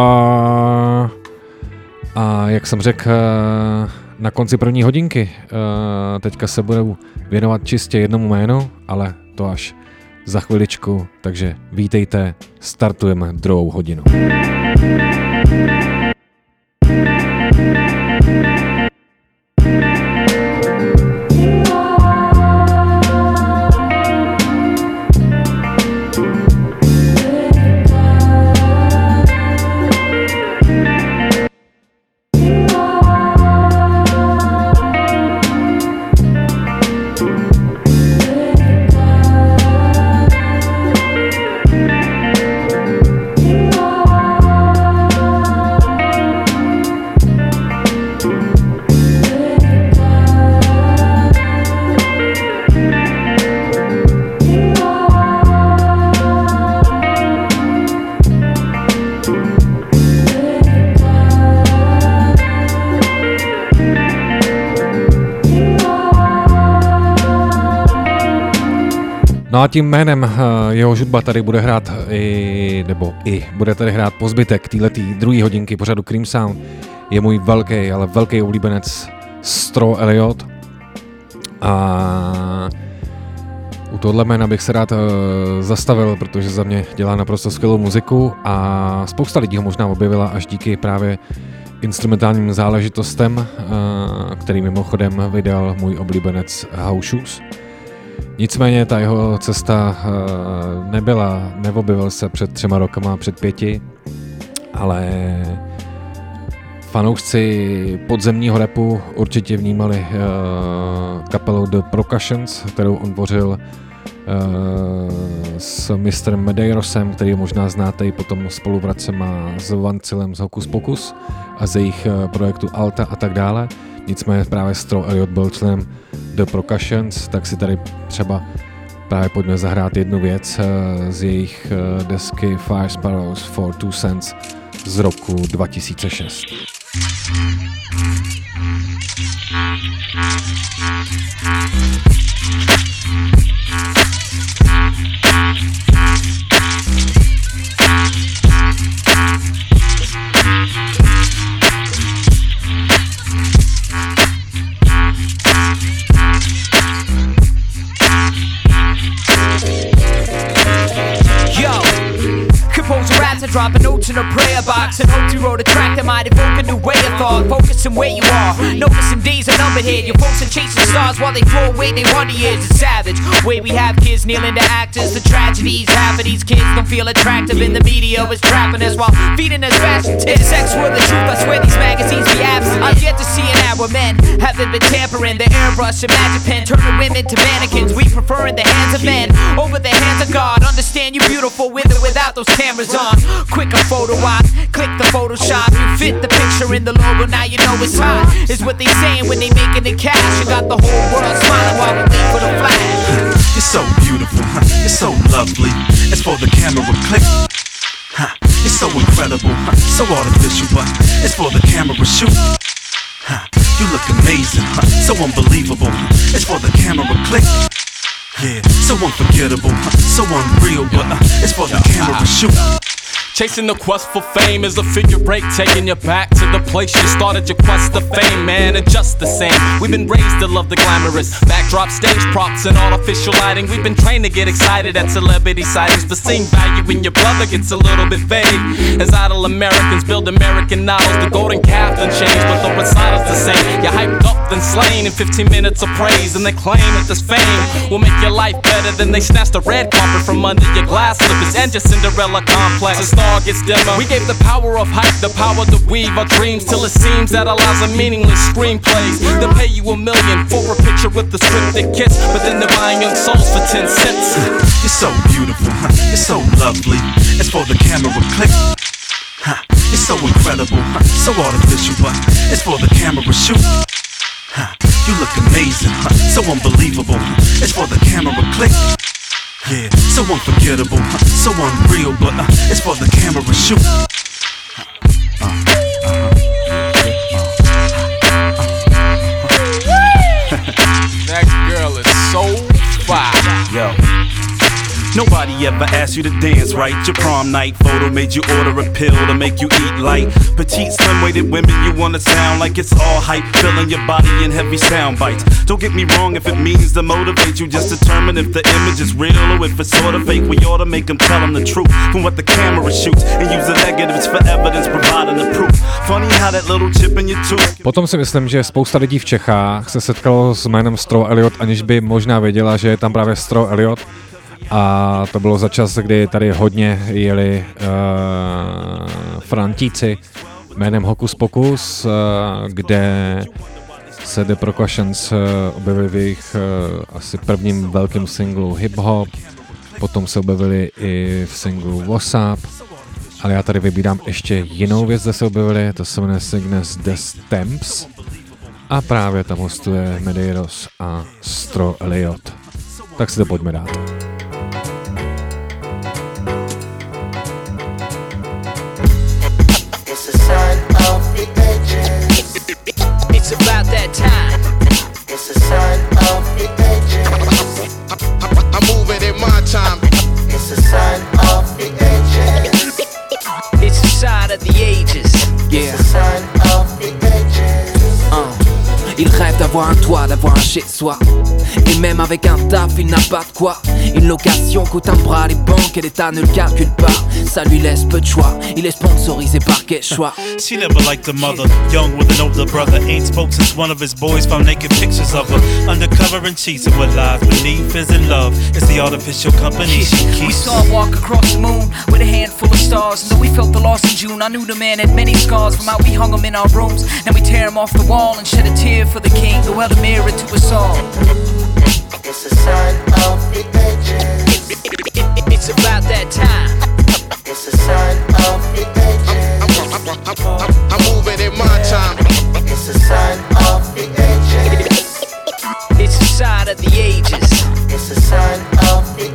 a jak jsem řekl na konci první hodinky, teďka se budu věnovat čistě jednomu jménu, ale to až za chviličku. Takže vítejte, startujeme druhou hodinu. No a tím jménem jeho hudba tady bude hrát i, nebo i, bude tady hrát po zbytek téhletý druhý hodinky pořadu Cream Sound. Je můj velký, ale velký oblíbenec Stro Elliott. A u tohle jména bych se rád zastavil, protože za mě dělá naprosto skvělou muziku a spousta lidí ho možná objevila až díky právě instrumentálním záležitostem, který mimochodem vydal můj oblíbenec House Shoes. Nicméně ta jeho cesta nebyla, neobjevil se před třema rokama, před pěti, ale fanoušci podzemního rapu určitě vnímali kapelu The Percussions, kterou on tvořil s mistrem Medeirosem, který možná znáte i potom spolupracem s Vancilem z Hokus Pokus a z jejich projektu Alta a tak dále. Nicméně právě Stro Elliott byl členem The Percussions, tak si tady třeba právě pojďme zahrát jednu věc z jejich desky Fire Sparrows for Two Cents z roku dva tisíce šest. Drop a note in a prayer box and hope you wrote a track that might evoke a new way of thought. Focusing where you are, noticing days are numbered here. Your folks are chasing stars while they throw away their wonder years. It's savage, way we have kids kneeling to actors. The tragedies, half of these kids don't feel attractive in the media is trapping us while feeding us fashion tips. Sex with the truth, I swear these magazines be absent. I've yet to see an hour men haven't been tampering. The airbrush and magic pen turning women to mannequins. We prefer in the hands of men over the hands of God. Understand you're beautiful with or without those cameras on. Quick a photo op, click the Photoshop. You fit the picture in the logo, now you know it's hot. Is what they saying when they making the cash. You got the whole world smiling while we wait for the flash. You're so beautiful, huh? You're so lovely. It's for the camera click. Huh? It's so incredible, huh? So artificial, but it's for the camera shoot. Huh? You look amazing, huh? So unbelievable. Huh? It's for the camera click. Yeah, so unforgettable, huh? So unreal, but uh, it's for the camera shoot. Chasing the quest for fame is a figure break, taking you back to the place you started your quest to fame, man. And just the same, we've been raised to love the glamorous backdrop, stage props, and artificial lighting. We've been trained to get excited at celebrity sightings, but seeing value in your brother gets a little bit vague. As idle Americans build American novels, the golden calf done changed, but the recital's the same. You're hyped up then slain in fifteen minutes of praise, and they claim that this fame will make your life better. Then they snatch the red carpet from under your glass slippers and your Cinderella complex. The star gets dimmer. We gave the power of hype, the power to weave our dreams, till it seems that our lives are meaningless screenplays. They'll pay you a million for a picture with a scripted kiss, but then they're buying young souls for ten cents. You're so beautiful, huh? You're so lovely. It's for the camera click. Huh? It's so incredible, huh? So artificial, but it's for the camera shoot. Huh? You look amazing, huh? So unbelievable. Huh? It's for the camera click. Yeah, so unforgettable, huh? So unreal, but uh, it's for the camera shoot. Uh, uh-huh. That girl is five. Yo. Nobody ever asked you to dance right. Your prom night photo made you order a pill to make you eat light. Petite, slim-weighted women, you wanna sound like it's all hype, filling your body in heavy sound bites. Don't get me wrong, if it means to motivate you, just determine if the image is real or if it's sort of fake. We ought to make them tell them the truth from what the camera shoots and use the negatives for evidence, providing the proof. Funny how that little chip in your tooth. Potom si myslím, že spousta lidí v Čechách se setkalo s jménem Stro Elliot, aniž by možná věděla, že je tam právě Stro Elliot. A to bylo za čas, kdy tady hodně jeli uh, Frantíci jménem Hokus Pokus, uh, kde se The Percussions uh, objevili v jejich uh, asi prvním velkým singlu Hip Hop, potom se objevili i v singlu WhatsApp, ale já tady vybírám ještě jinou věc, kde se objevili, to se jmenuje Cygnus The Stamps a právě tam hostuje Medeiros a Stro Elliot. Tak si to pojďme dát. It's about that time. It's a sign of the ages. I'm moving in my time. It's a sign of the ages. It's a sign of the ages. Yeah. It's a sign of the ages. Uh. Il rêve d'avoir un toit, d'avoir un chez-soi. Et même avec un taf, il n'a pas de quoi. Une location coûte un bras, les banques et l'État ne le calculent pas. Ça lui laisse peu de choix, il est sponsorisé par Quechua. She never liked her mother, young with an older brother. Ain't spoke since one of his boys found naked pictures of her. Undercover and cheating what lies beneath is in love. It's the artificial company she keeps. We saw him walk across the moon with a handful of stars. And though we felt the loss in June, I knew the man had many scars. From how we hung him in our rooms, and we tear him off the wall and shed a tear for the king who held a mirror to us all. It's a sign of the ages. It's about that time. It's a sign of the ages. I'm, I'm, I'm, I'm, I'm moving in my time. It's a sign of the ages. It's a sign of the ages. It's a sign of the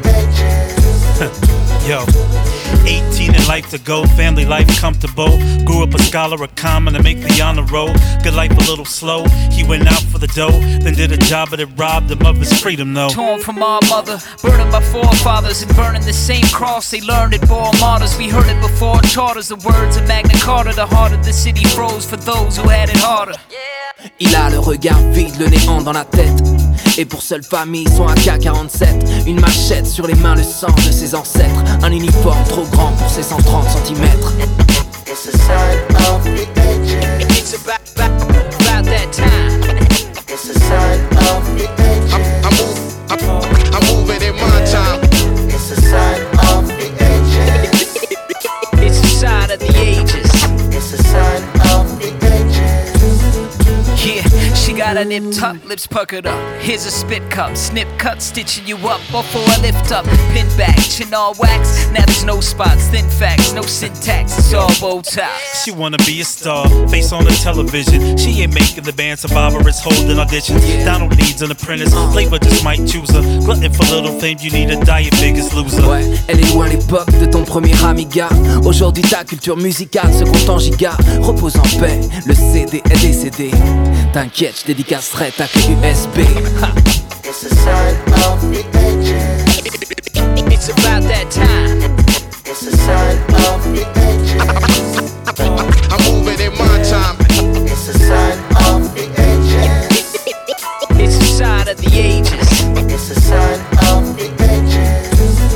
ages. Yo. eighteen in life to go, family life comfortable. Grew up a scholar, a common to make the honor roll. Good life a little slow, he went out for the dough. Then did a job but it robbed him of his freedom though. Torn from our mother, burning my forefathers. And burning the same cross they learned it bore martyrs. We heard it before charters, the words of Magna Carta. The heart of the city froze for those who had it harder. Il a le regard vide, le néant dans la tête. Et pour seule famille, son A K quarante-sept. Une machette sur les mains, le sang de ses ancêtres. Un uniforme trop grand pour ses cent trente centimètres. It's a sign of the ages. It's about, about, about that time. It's a sign of the ages. I'm, I'm, move, I'm, I'm moving in my time. It's a sign of the ages. It's a sign of the ages. It's a sign of the ages. Yeah, she got her nip tucked, lips puckered up. Here's a spit cup, snip cut, stitching you up before I lift up. Pin back, chin all wax. Now there's no spots, thin facts, no syntax. It's all bow ties. She wanna be a star, face on the television. She ain't making the band survivor, it's holding auditions. Donald needs an apprentice, Flavor just might choose her. Glutton for little fame, you need a diet, biggest loser. Ouais, elle est loin l'époque de ton premier Amiga. Aujourd'hui ta culture musicale se compte en giga. Repose en paix, le C D est décédé. T'inquiète, je dédicacerai ta clé U S B. It's a sign of the ages. It's about that time. It's a sign of the ages. I'm moving in my time. It's a sign of the ages. It's a sign of the ages. It's a sign of the ages.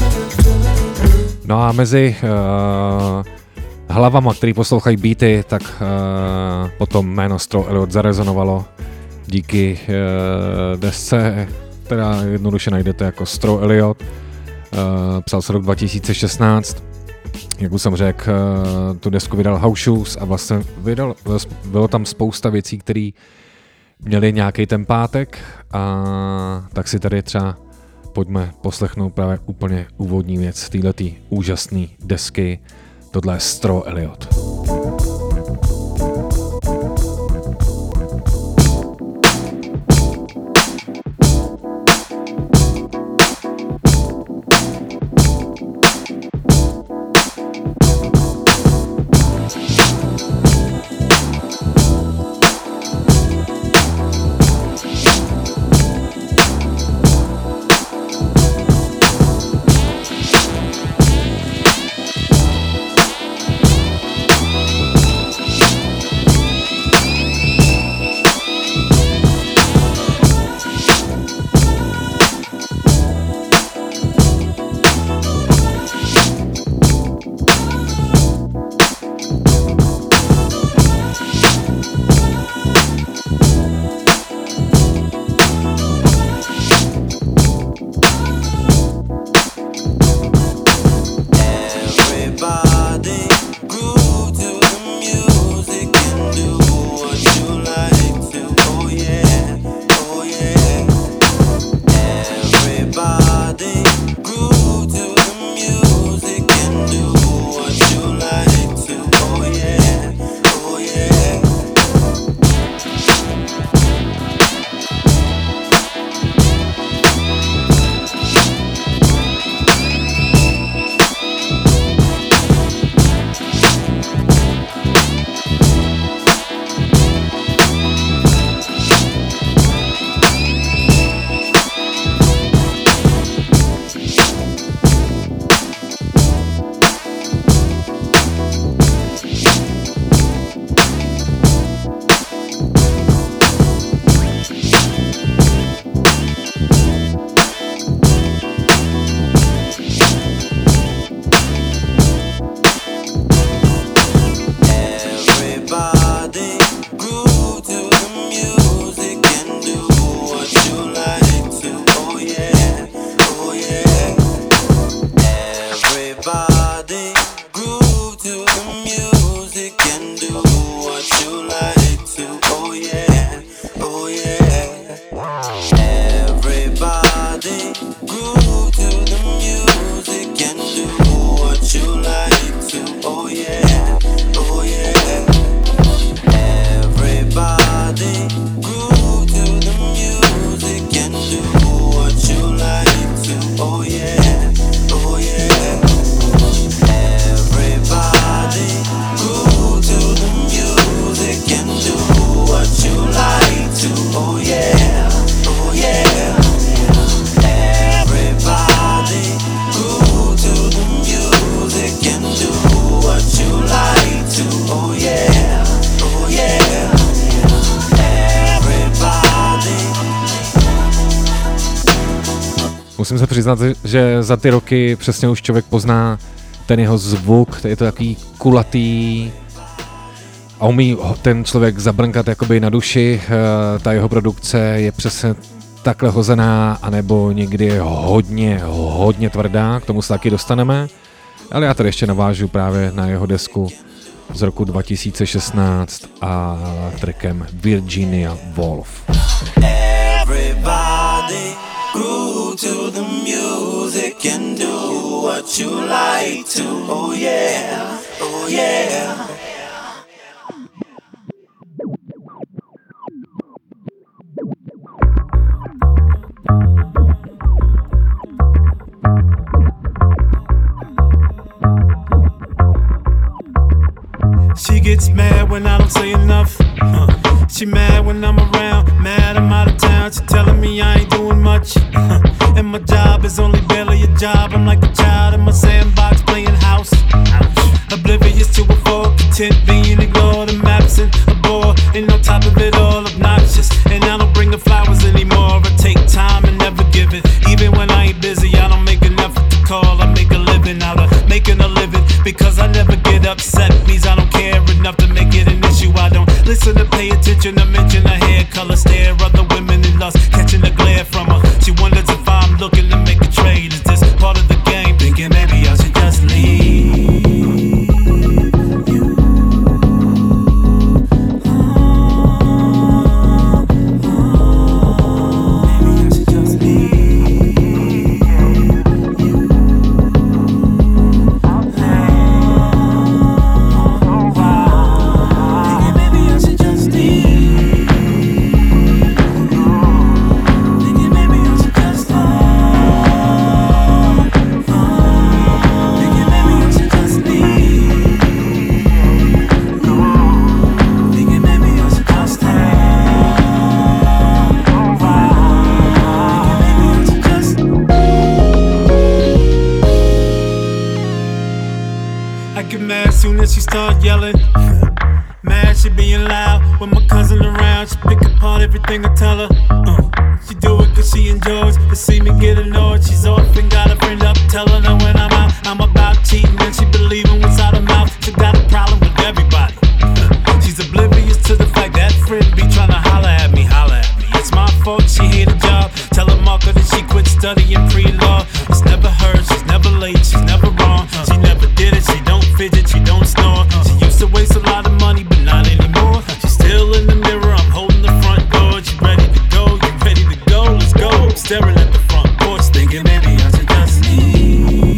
No a mezi uh, hlavama, který poslouchají beaty, tak uh, potom jméno Stro Elliot zarezonovalo díky uh, desce, která jednoduše najdete jako Stro Elliot. Uh, psal se rok dva tisíce šestnáct. Jak už jsem řekl, uh, tu desku vydal House Shoes a vlastně vydal, bylo tam spousta věcí, které měly nějaký tempátek, a tak si tady třeba pojďme poslechnout právě úplně úvodní věc této úžasné desky. Tohle je Stro Elliot. musím se přiznat, že za ty roky přesně už člověk pozná ten jeho zvuk, je to takový kulatý a umí ten člověk zabrnkat jakoby na duši, ta jeho produkce je přesně takhle hozená, anebo někdy je hodně, hodně tvrdá, k tomu se taky dostaneme, ale já tady ještě navážu právě na jeho desku z roku dva tisíce šestnáct a trackem Virginia Woolf. Everybody groove to the music and do what you like to. Oh yeah, oh yeah. She gets mad when I don't say enough. Uh, she mad when I'm around, mad I'm out of town. She telling me I ain't doing much. Uh, and my job is only barely a job. I'm like a child in my sandbox playing house. Oblivious to a four, content being ignored. I'm absent, a bore, and on top of it all obnoxious. And I don't bring her flowers anymore. I take time and never give it. Even when I ain't busy, I don't make an effort to call. I make a living out of making a living. Because I never get upset means I don't care enough to make it an issue. I don't listen to pay attention to mention her hair color, stare other women in lust, catching the glare from her. She wonders if I'm looking to make a trade. Is this part of the game? Thinking maybe I should just leave. She start yelling, mad she being loud. When my cousin around, she pick apart everything I tell her. uh, She do it cause she enjoys to see me get annoyed. She's often got a friend up telling her when I'm out I'm about cheating, and she believing what's out her mouth. She got a problem with everybody. uh, She's oblivious to the fact that friend be trying to holler at me, holler at me. It's my fault she hate a job. Tell her Marco that she quit studying pre-law. It's never her, she's never late, she's never wrong. She never did it, she don't fidget, she don't snore. She used to waste a lot of money, but not anymore. She's still in the mirror, I'm holding the front door. She ready to go, you ready to go? Let's go. I'm staring at the front porch, thinking maybe I should just leave.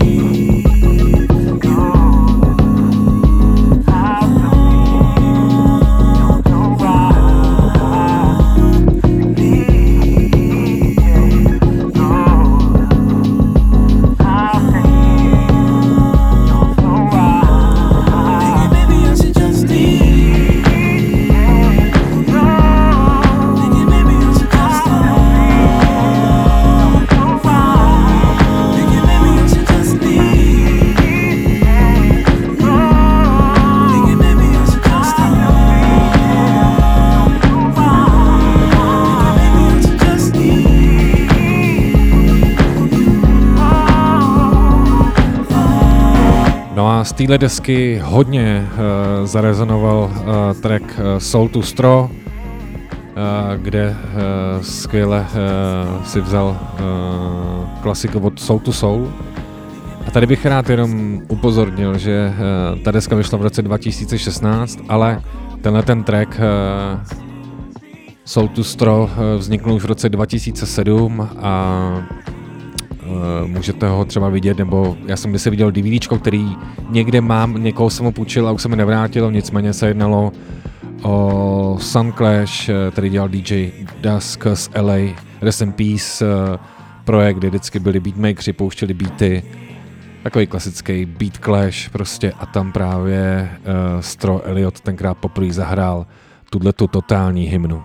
Z téhle desky hodně uh, zarezonoval uh, track uh, Soul to Straw, uh, kde uh, skvěle uh, si vzal uh, klasiku od Soul to Soul. A tady bych rád jenom upozornil, že uh, ta deska vyšla v roce dva tisíce šestnáct, ale tenhle ten track uh, Soul to Straw uh, vzniknul už v roce dva tisíce sedm a můžete ho třeba vidět, nebo já jsem kdysi viděl DVDčko, který někde mám, někoho jsem ho půjčil a už se mi nevrátilo, nicméně se jednalo o Sun Clash, který dělal D J Dusk z L A, Rest in Peace projekt, kde vždycky byli beatmakeri, pouštěli beaty, takový klasický beat clash prostě a tam právě uh, Stro Elliot tenkrát poprvé zahrál tuto totální hymnu.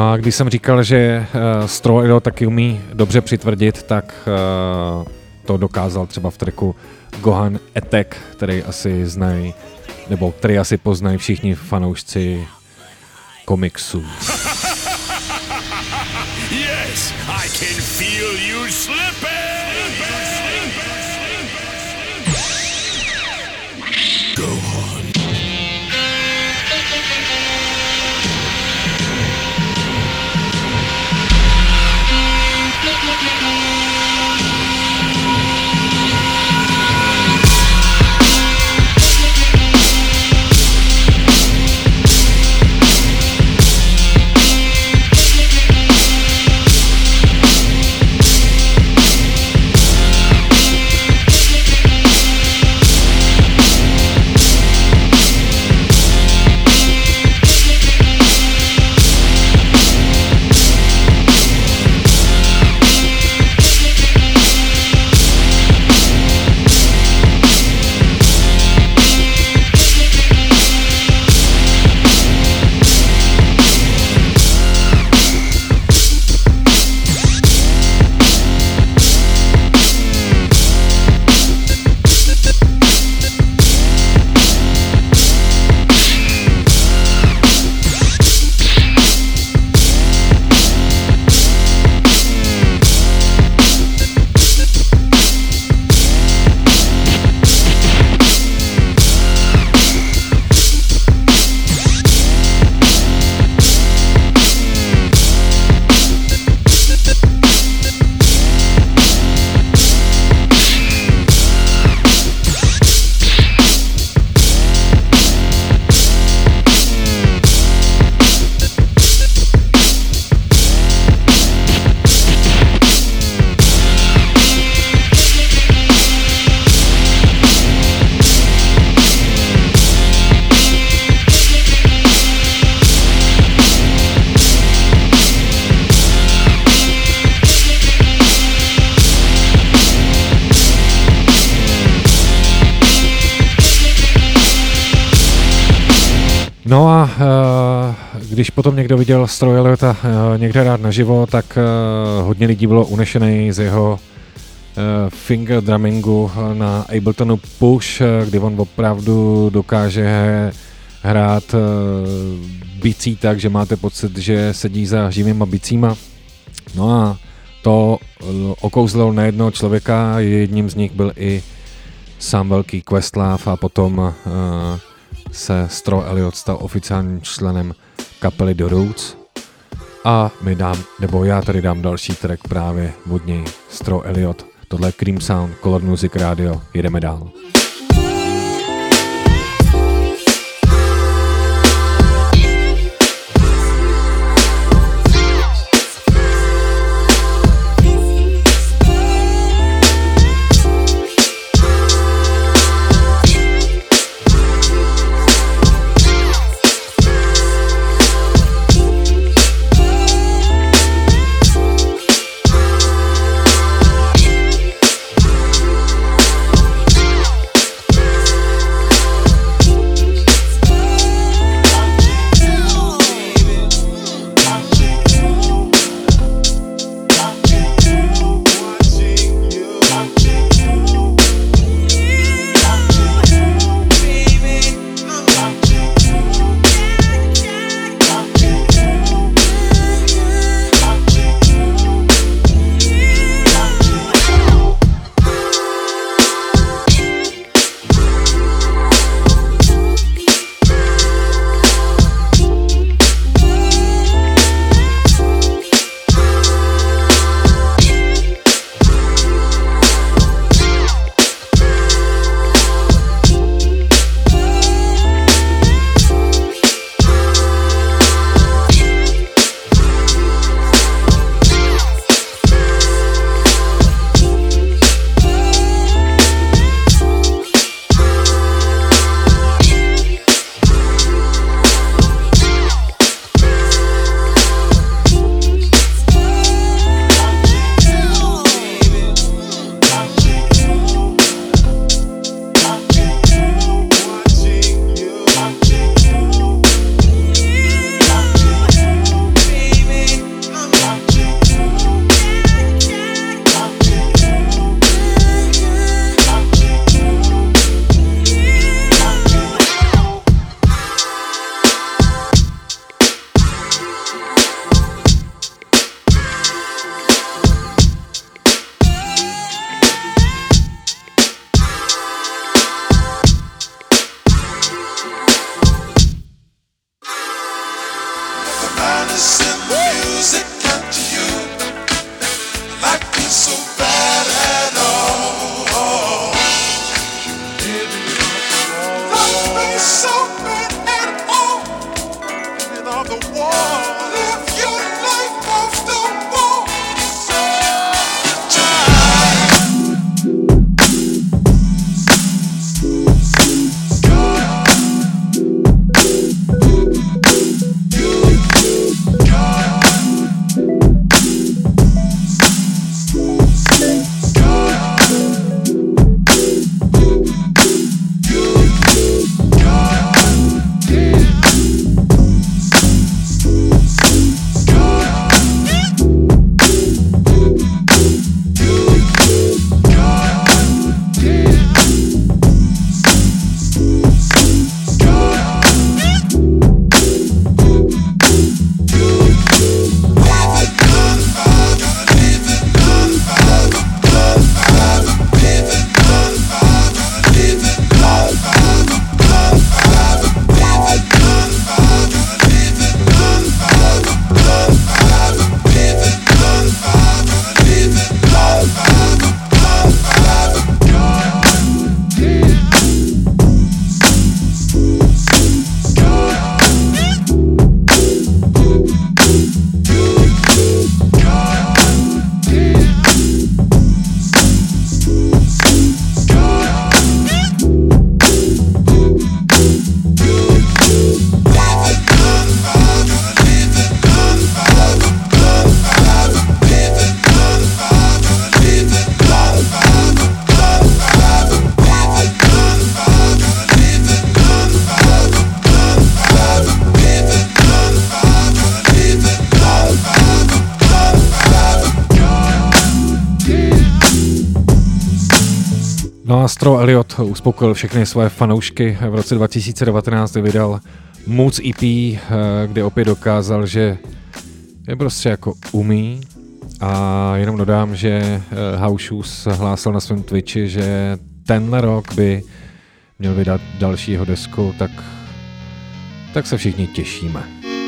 No a když jsem říkal, že uh, Straw Elliot taky umí dobře přitvrdit, tak uh, to dokázal třeba v tracku Gohan Attack, který asi znají, nebo který asi poznají všichni fanoušci komiksů. Yes, I can feel you slipping. Go on. No a uh, když potom někdo viděl Straw Elliota uh, někde rád naživo, tak uh, hodně lidí bylo unešený z jeho uh, finger drummingu na Abletonu Push, uh, kdy on opravdu dokáže hrát uh, bicí tak, že máte pocit, že sedí za živýma bicíma. No a to uh, okouzlilo nejednoho člověka, jedním z nich byl i sám velký Questlove a potom uh, se Straw Elliot stal oficiálním členem kapely The Roots a my dám, nebo já tady dám další track právě od něj, Straw Elliot, tohle je Cream Sound, Color Music Radio, jedeme dál. Astro Elliot uspokojil všechny svoje fanoušky. V roce dva tisíce devatenáct vydal Moods E P, kde opět dokázal, že je prostě jako umí. A jenom dodám, že House Shoes hlásil na svém Twitchi, že tenhle rok by měl vydat dalšího desku, tak, tak se všichni těšíme.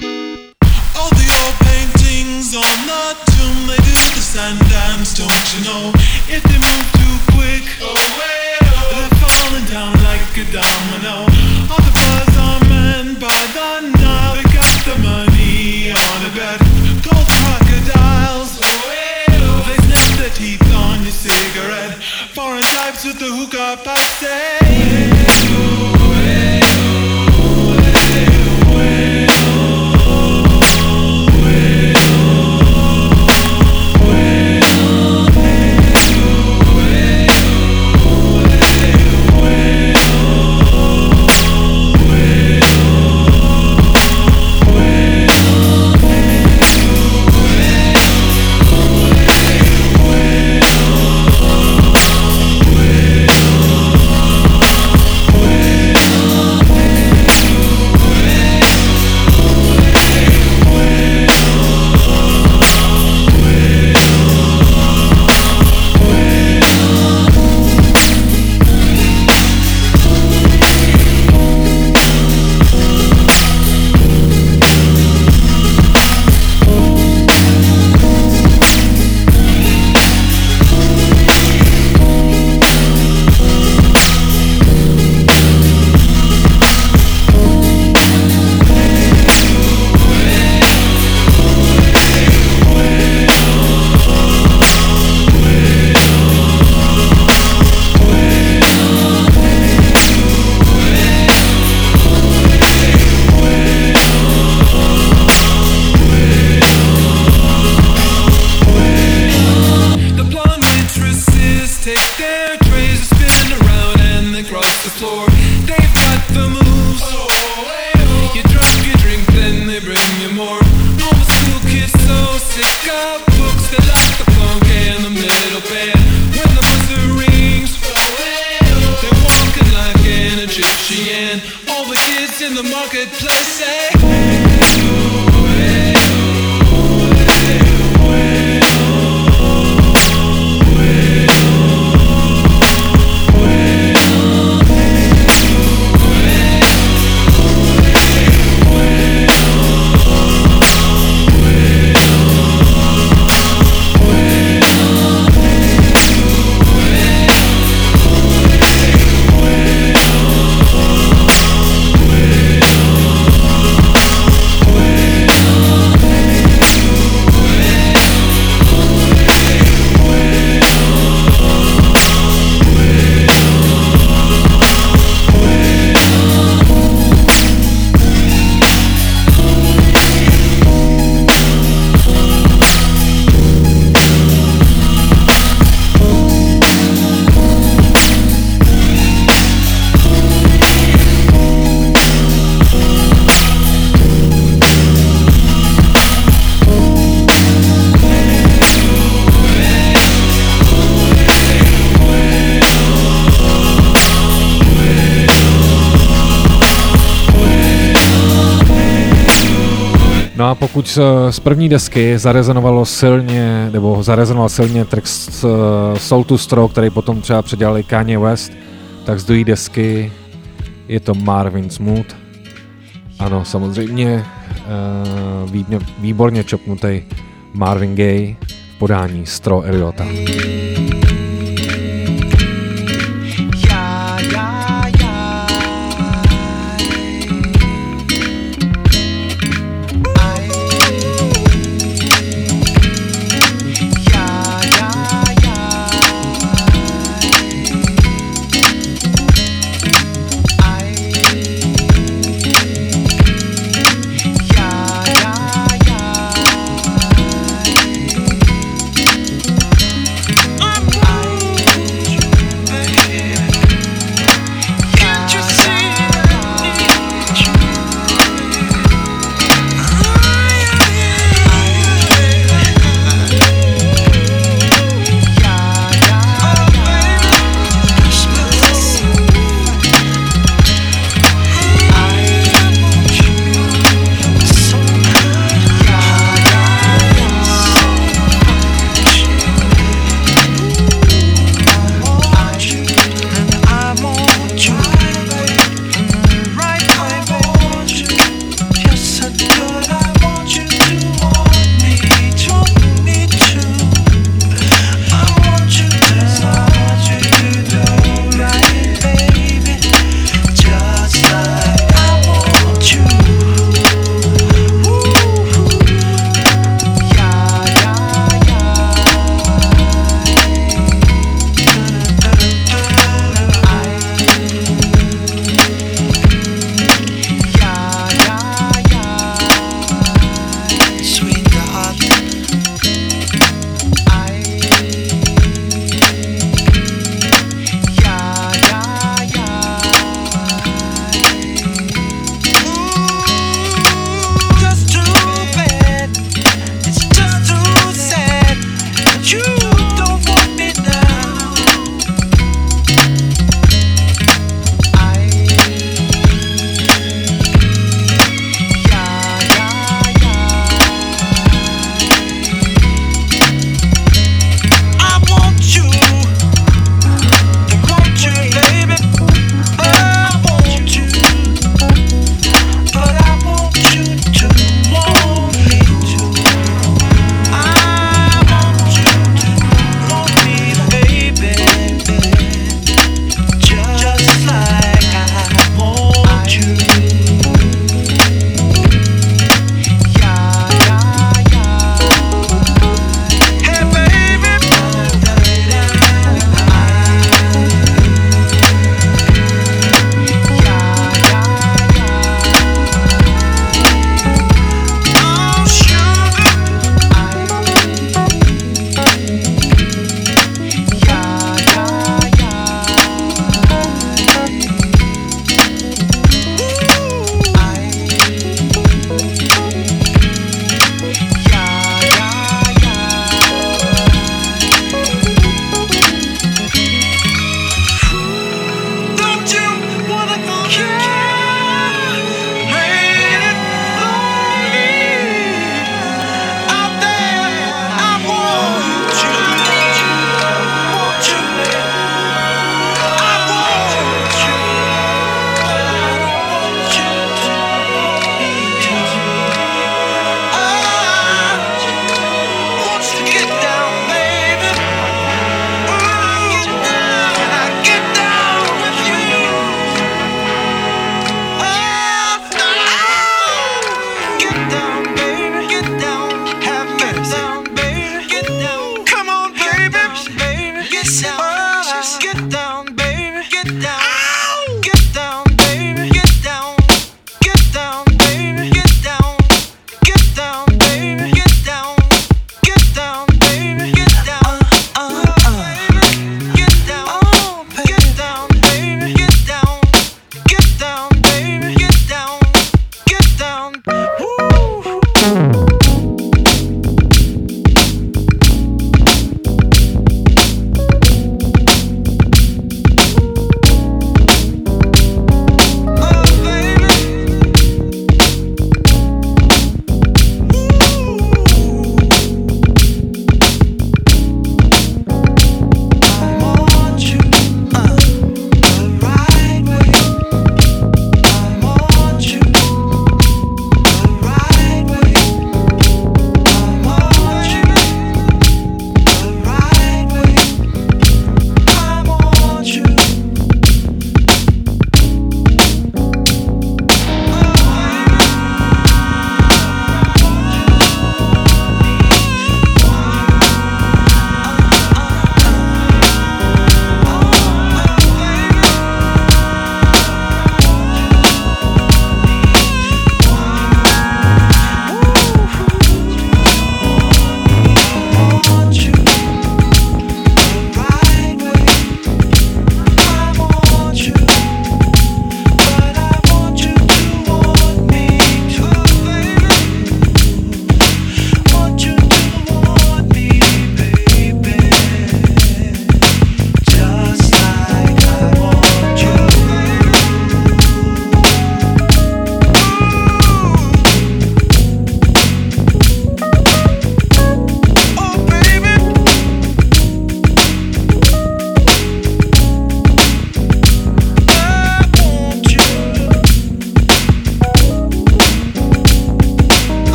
Sometimes don't you know if they move too quick, oh well, they're falling down like a domino. All the buzz are men by the Nile. They got the money on a bet. Gold crocodiles, oh well, they snap their teeth on your cigarette. Foreign types with the hookah passe. Well, well, well, well. No a pokud z, z první desky zarezonovalo silně, nebo zarezonoval silně track z uh, Soul to Straw, který potom třeba předělali Kanye West, tak z druhé desky je to Marvin Smooth. Ano, samozřejmě uh, vý, výborně čopnutý Marvin Gaye v podání Straw Eliota. Uh,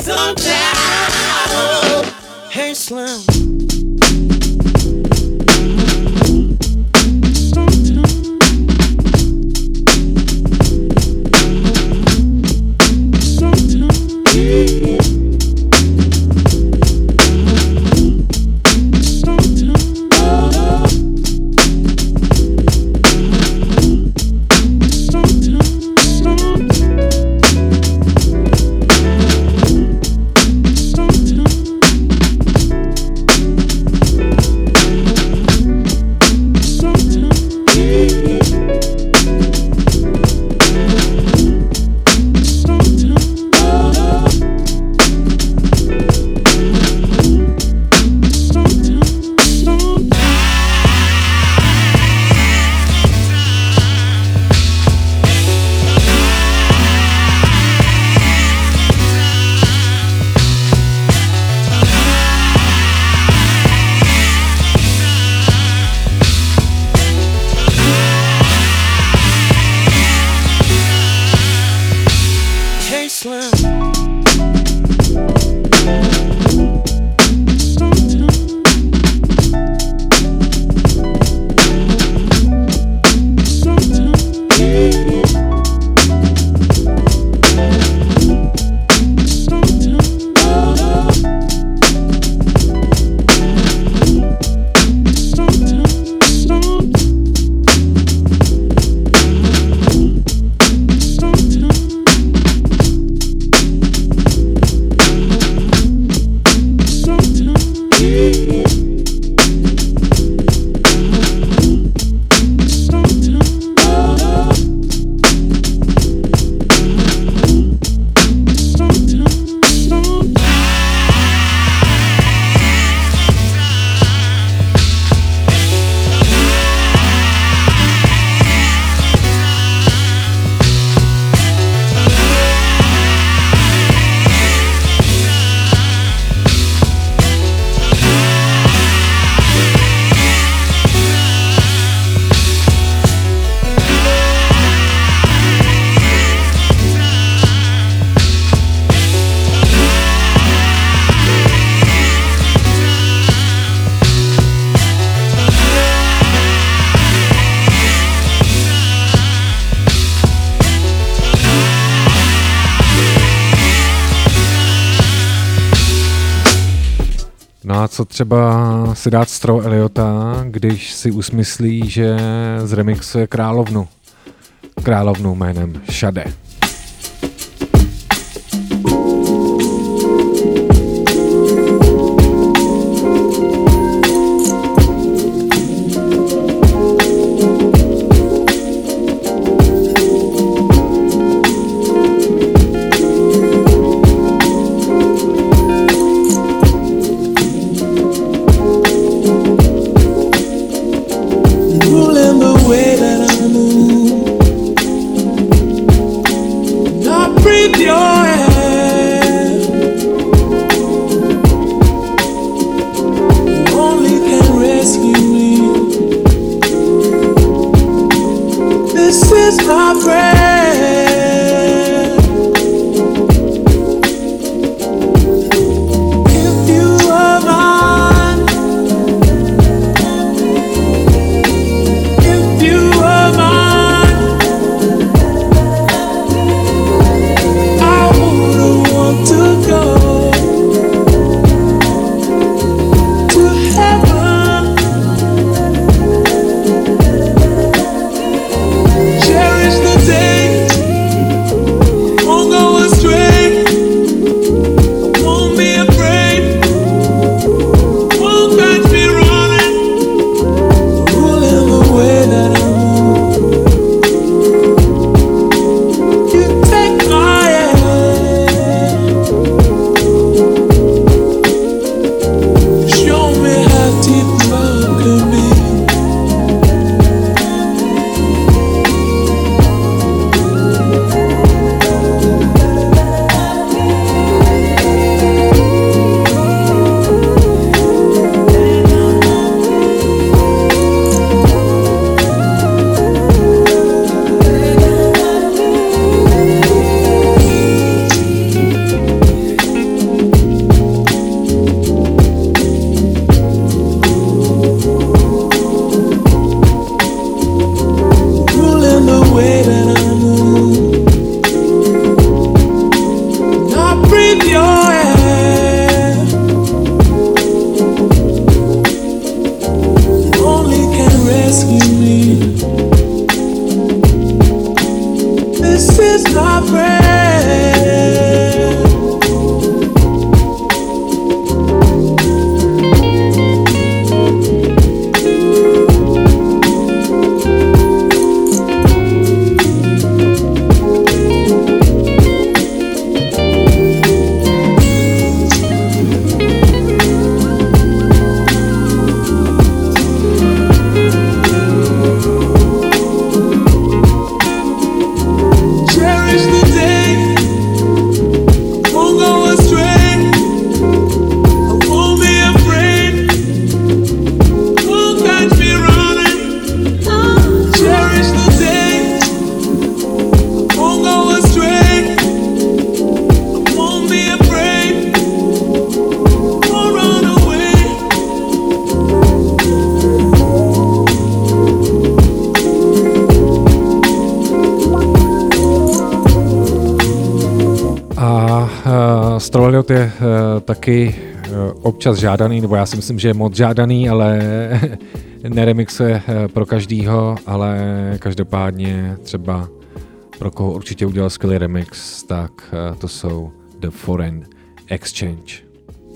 sometimes. Hey Slim. Co třeba si dát Stro Eliota, když si usmyslí, že zremixuje královnu. Královnu jménem Shade. Ruling the way that I move. Elliott je uh, taky uh, občas žádaný, nebo já si myslím, že je moc žádaný, ale neremixuje uh, pro každýho, ale každopádně třeba pro koho určitě udělal skvělý remix, tak uh, to jsou The Foreign Exchange.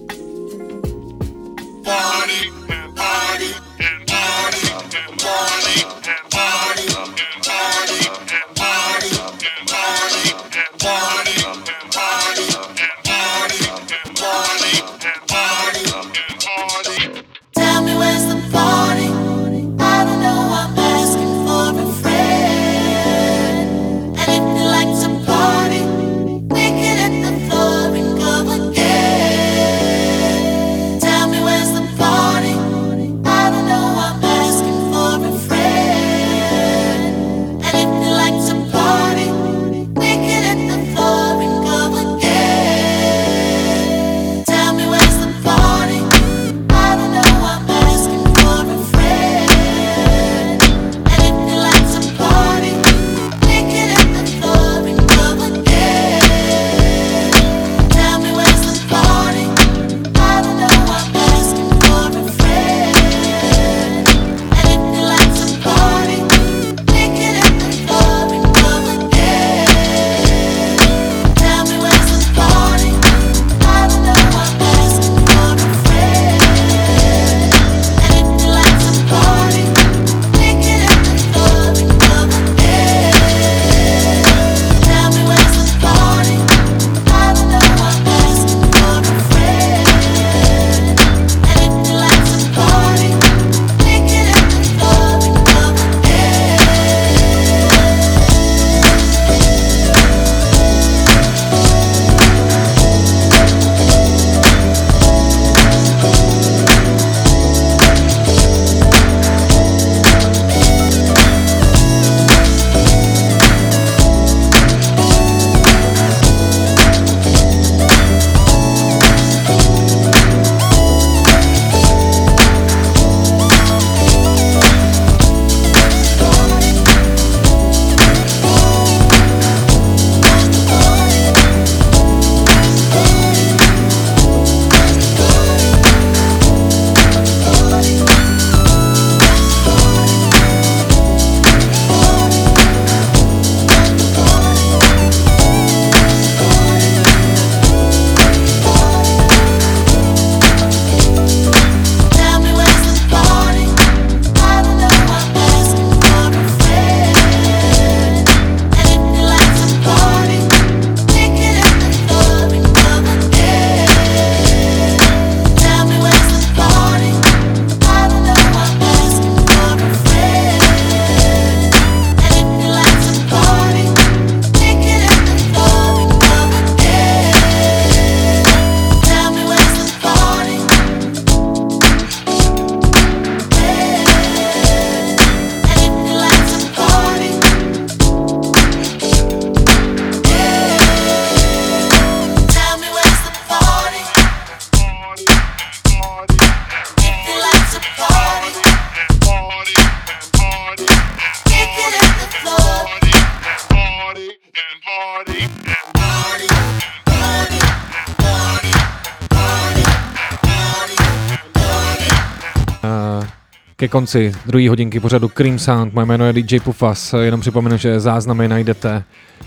Ke konci druhé hodinky pořadu Cream Sound, moje jméno je D J Pufas, jenom připomenu, že záznamy najdete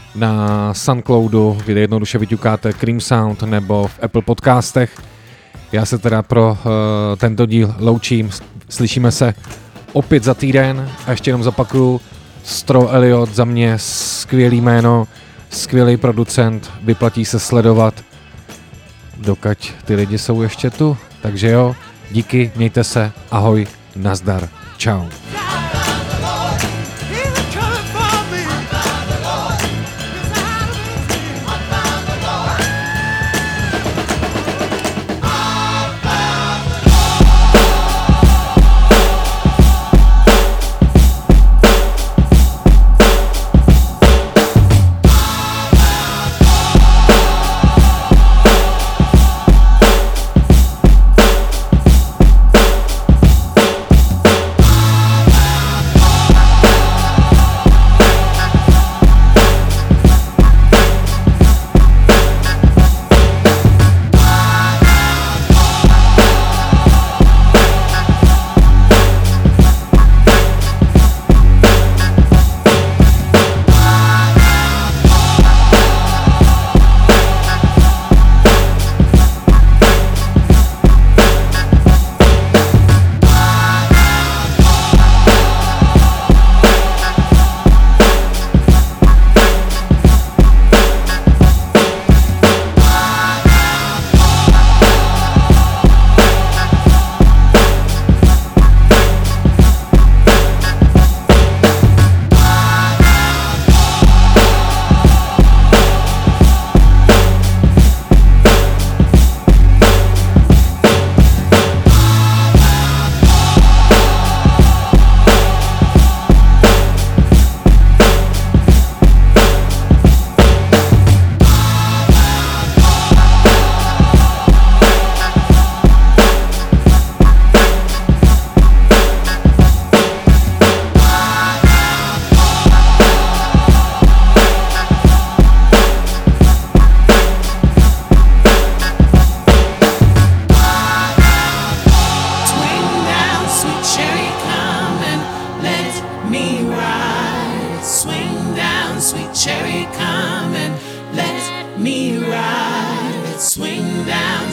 na Soundcloudu, kde jednoduše vyťukáte Cream Sound nebo v Apple podcastech. Já se teda pro uh, tento díl loučím, slyšíme se opět za týden a ještě jenom zopakuju, Stro Elliott za mě skvělý jméno, skvělý producent, vyplatí se sledovat, dokud ty lidi jsou ještě tu, takže jo, díky, mějte se, ahoj, nazdar, čau.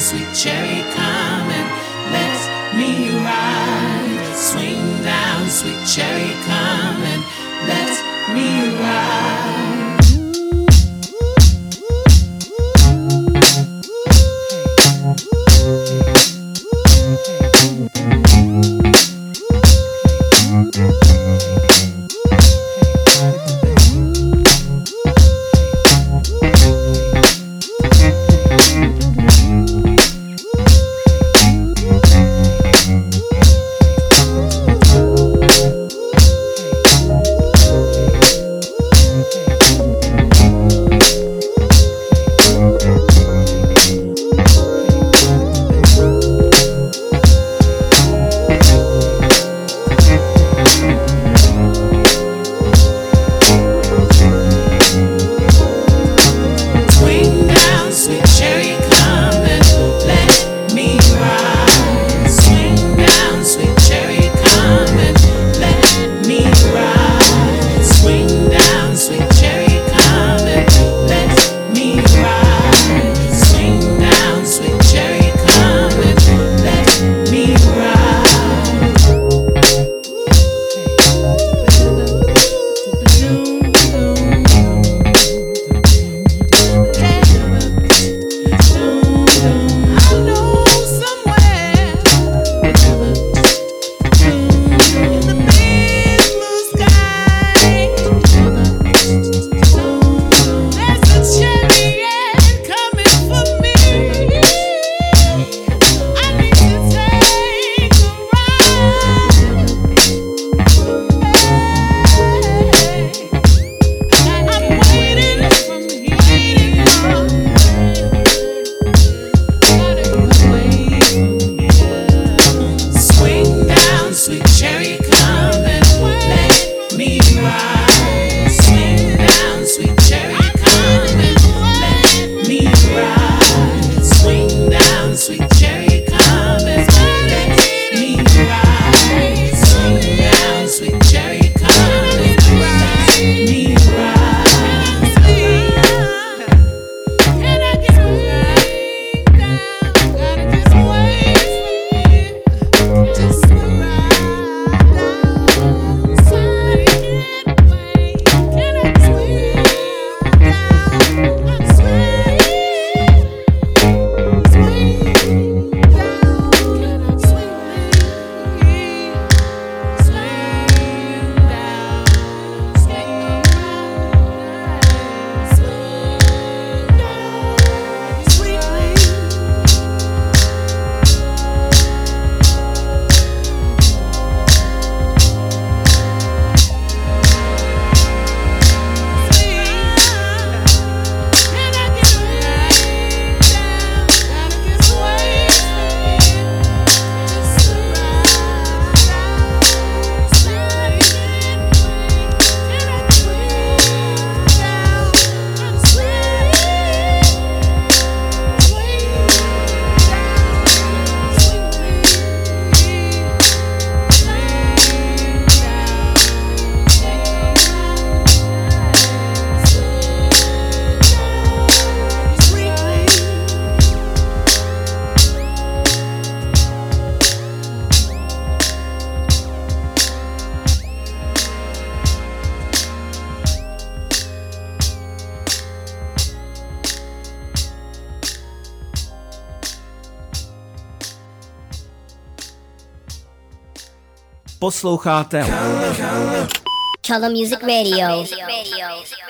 sweet cherry, come and let me ride. Swing down, sweet cherry, come and let me ride. Posloucháte Color Music Radio.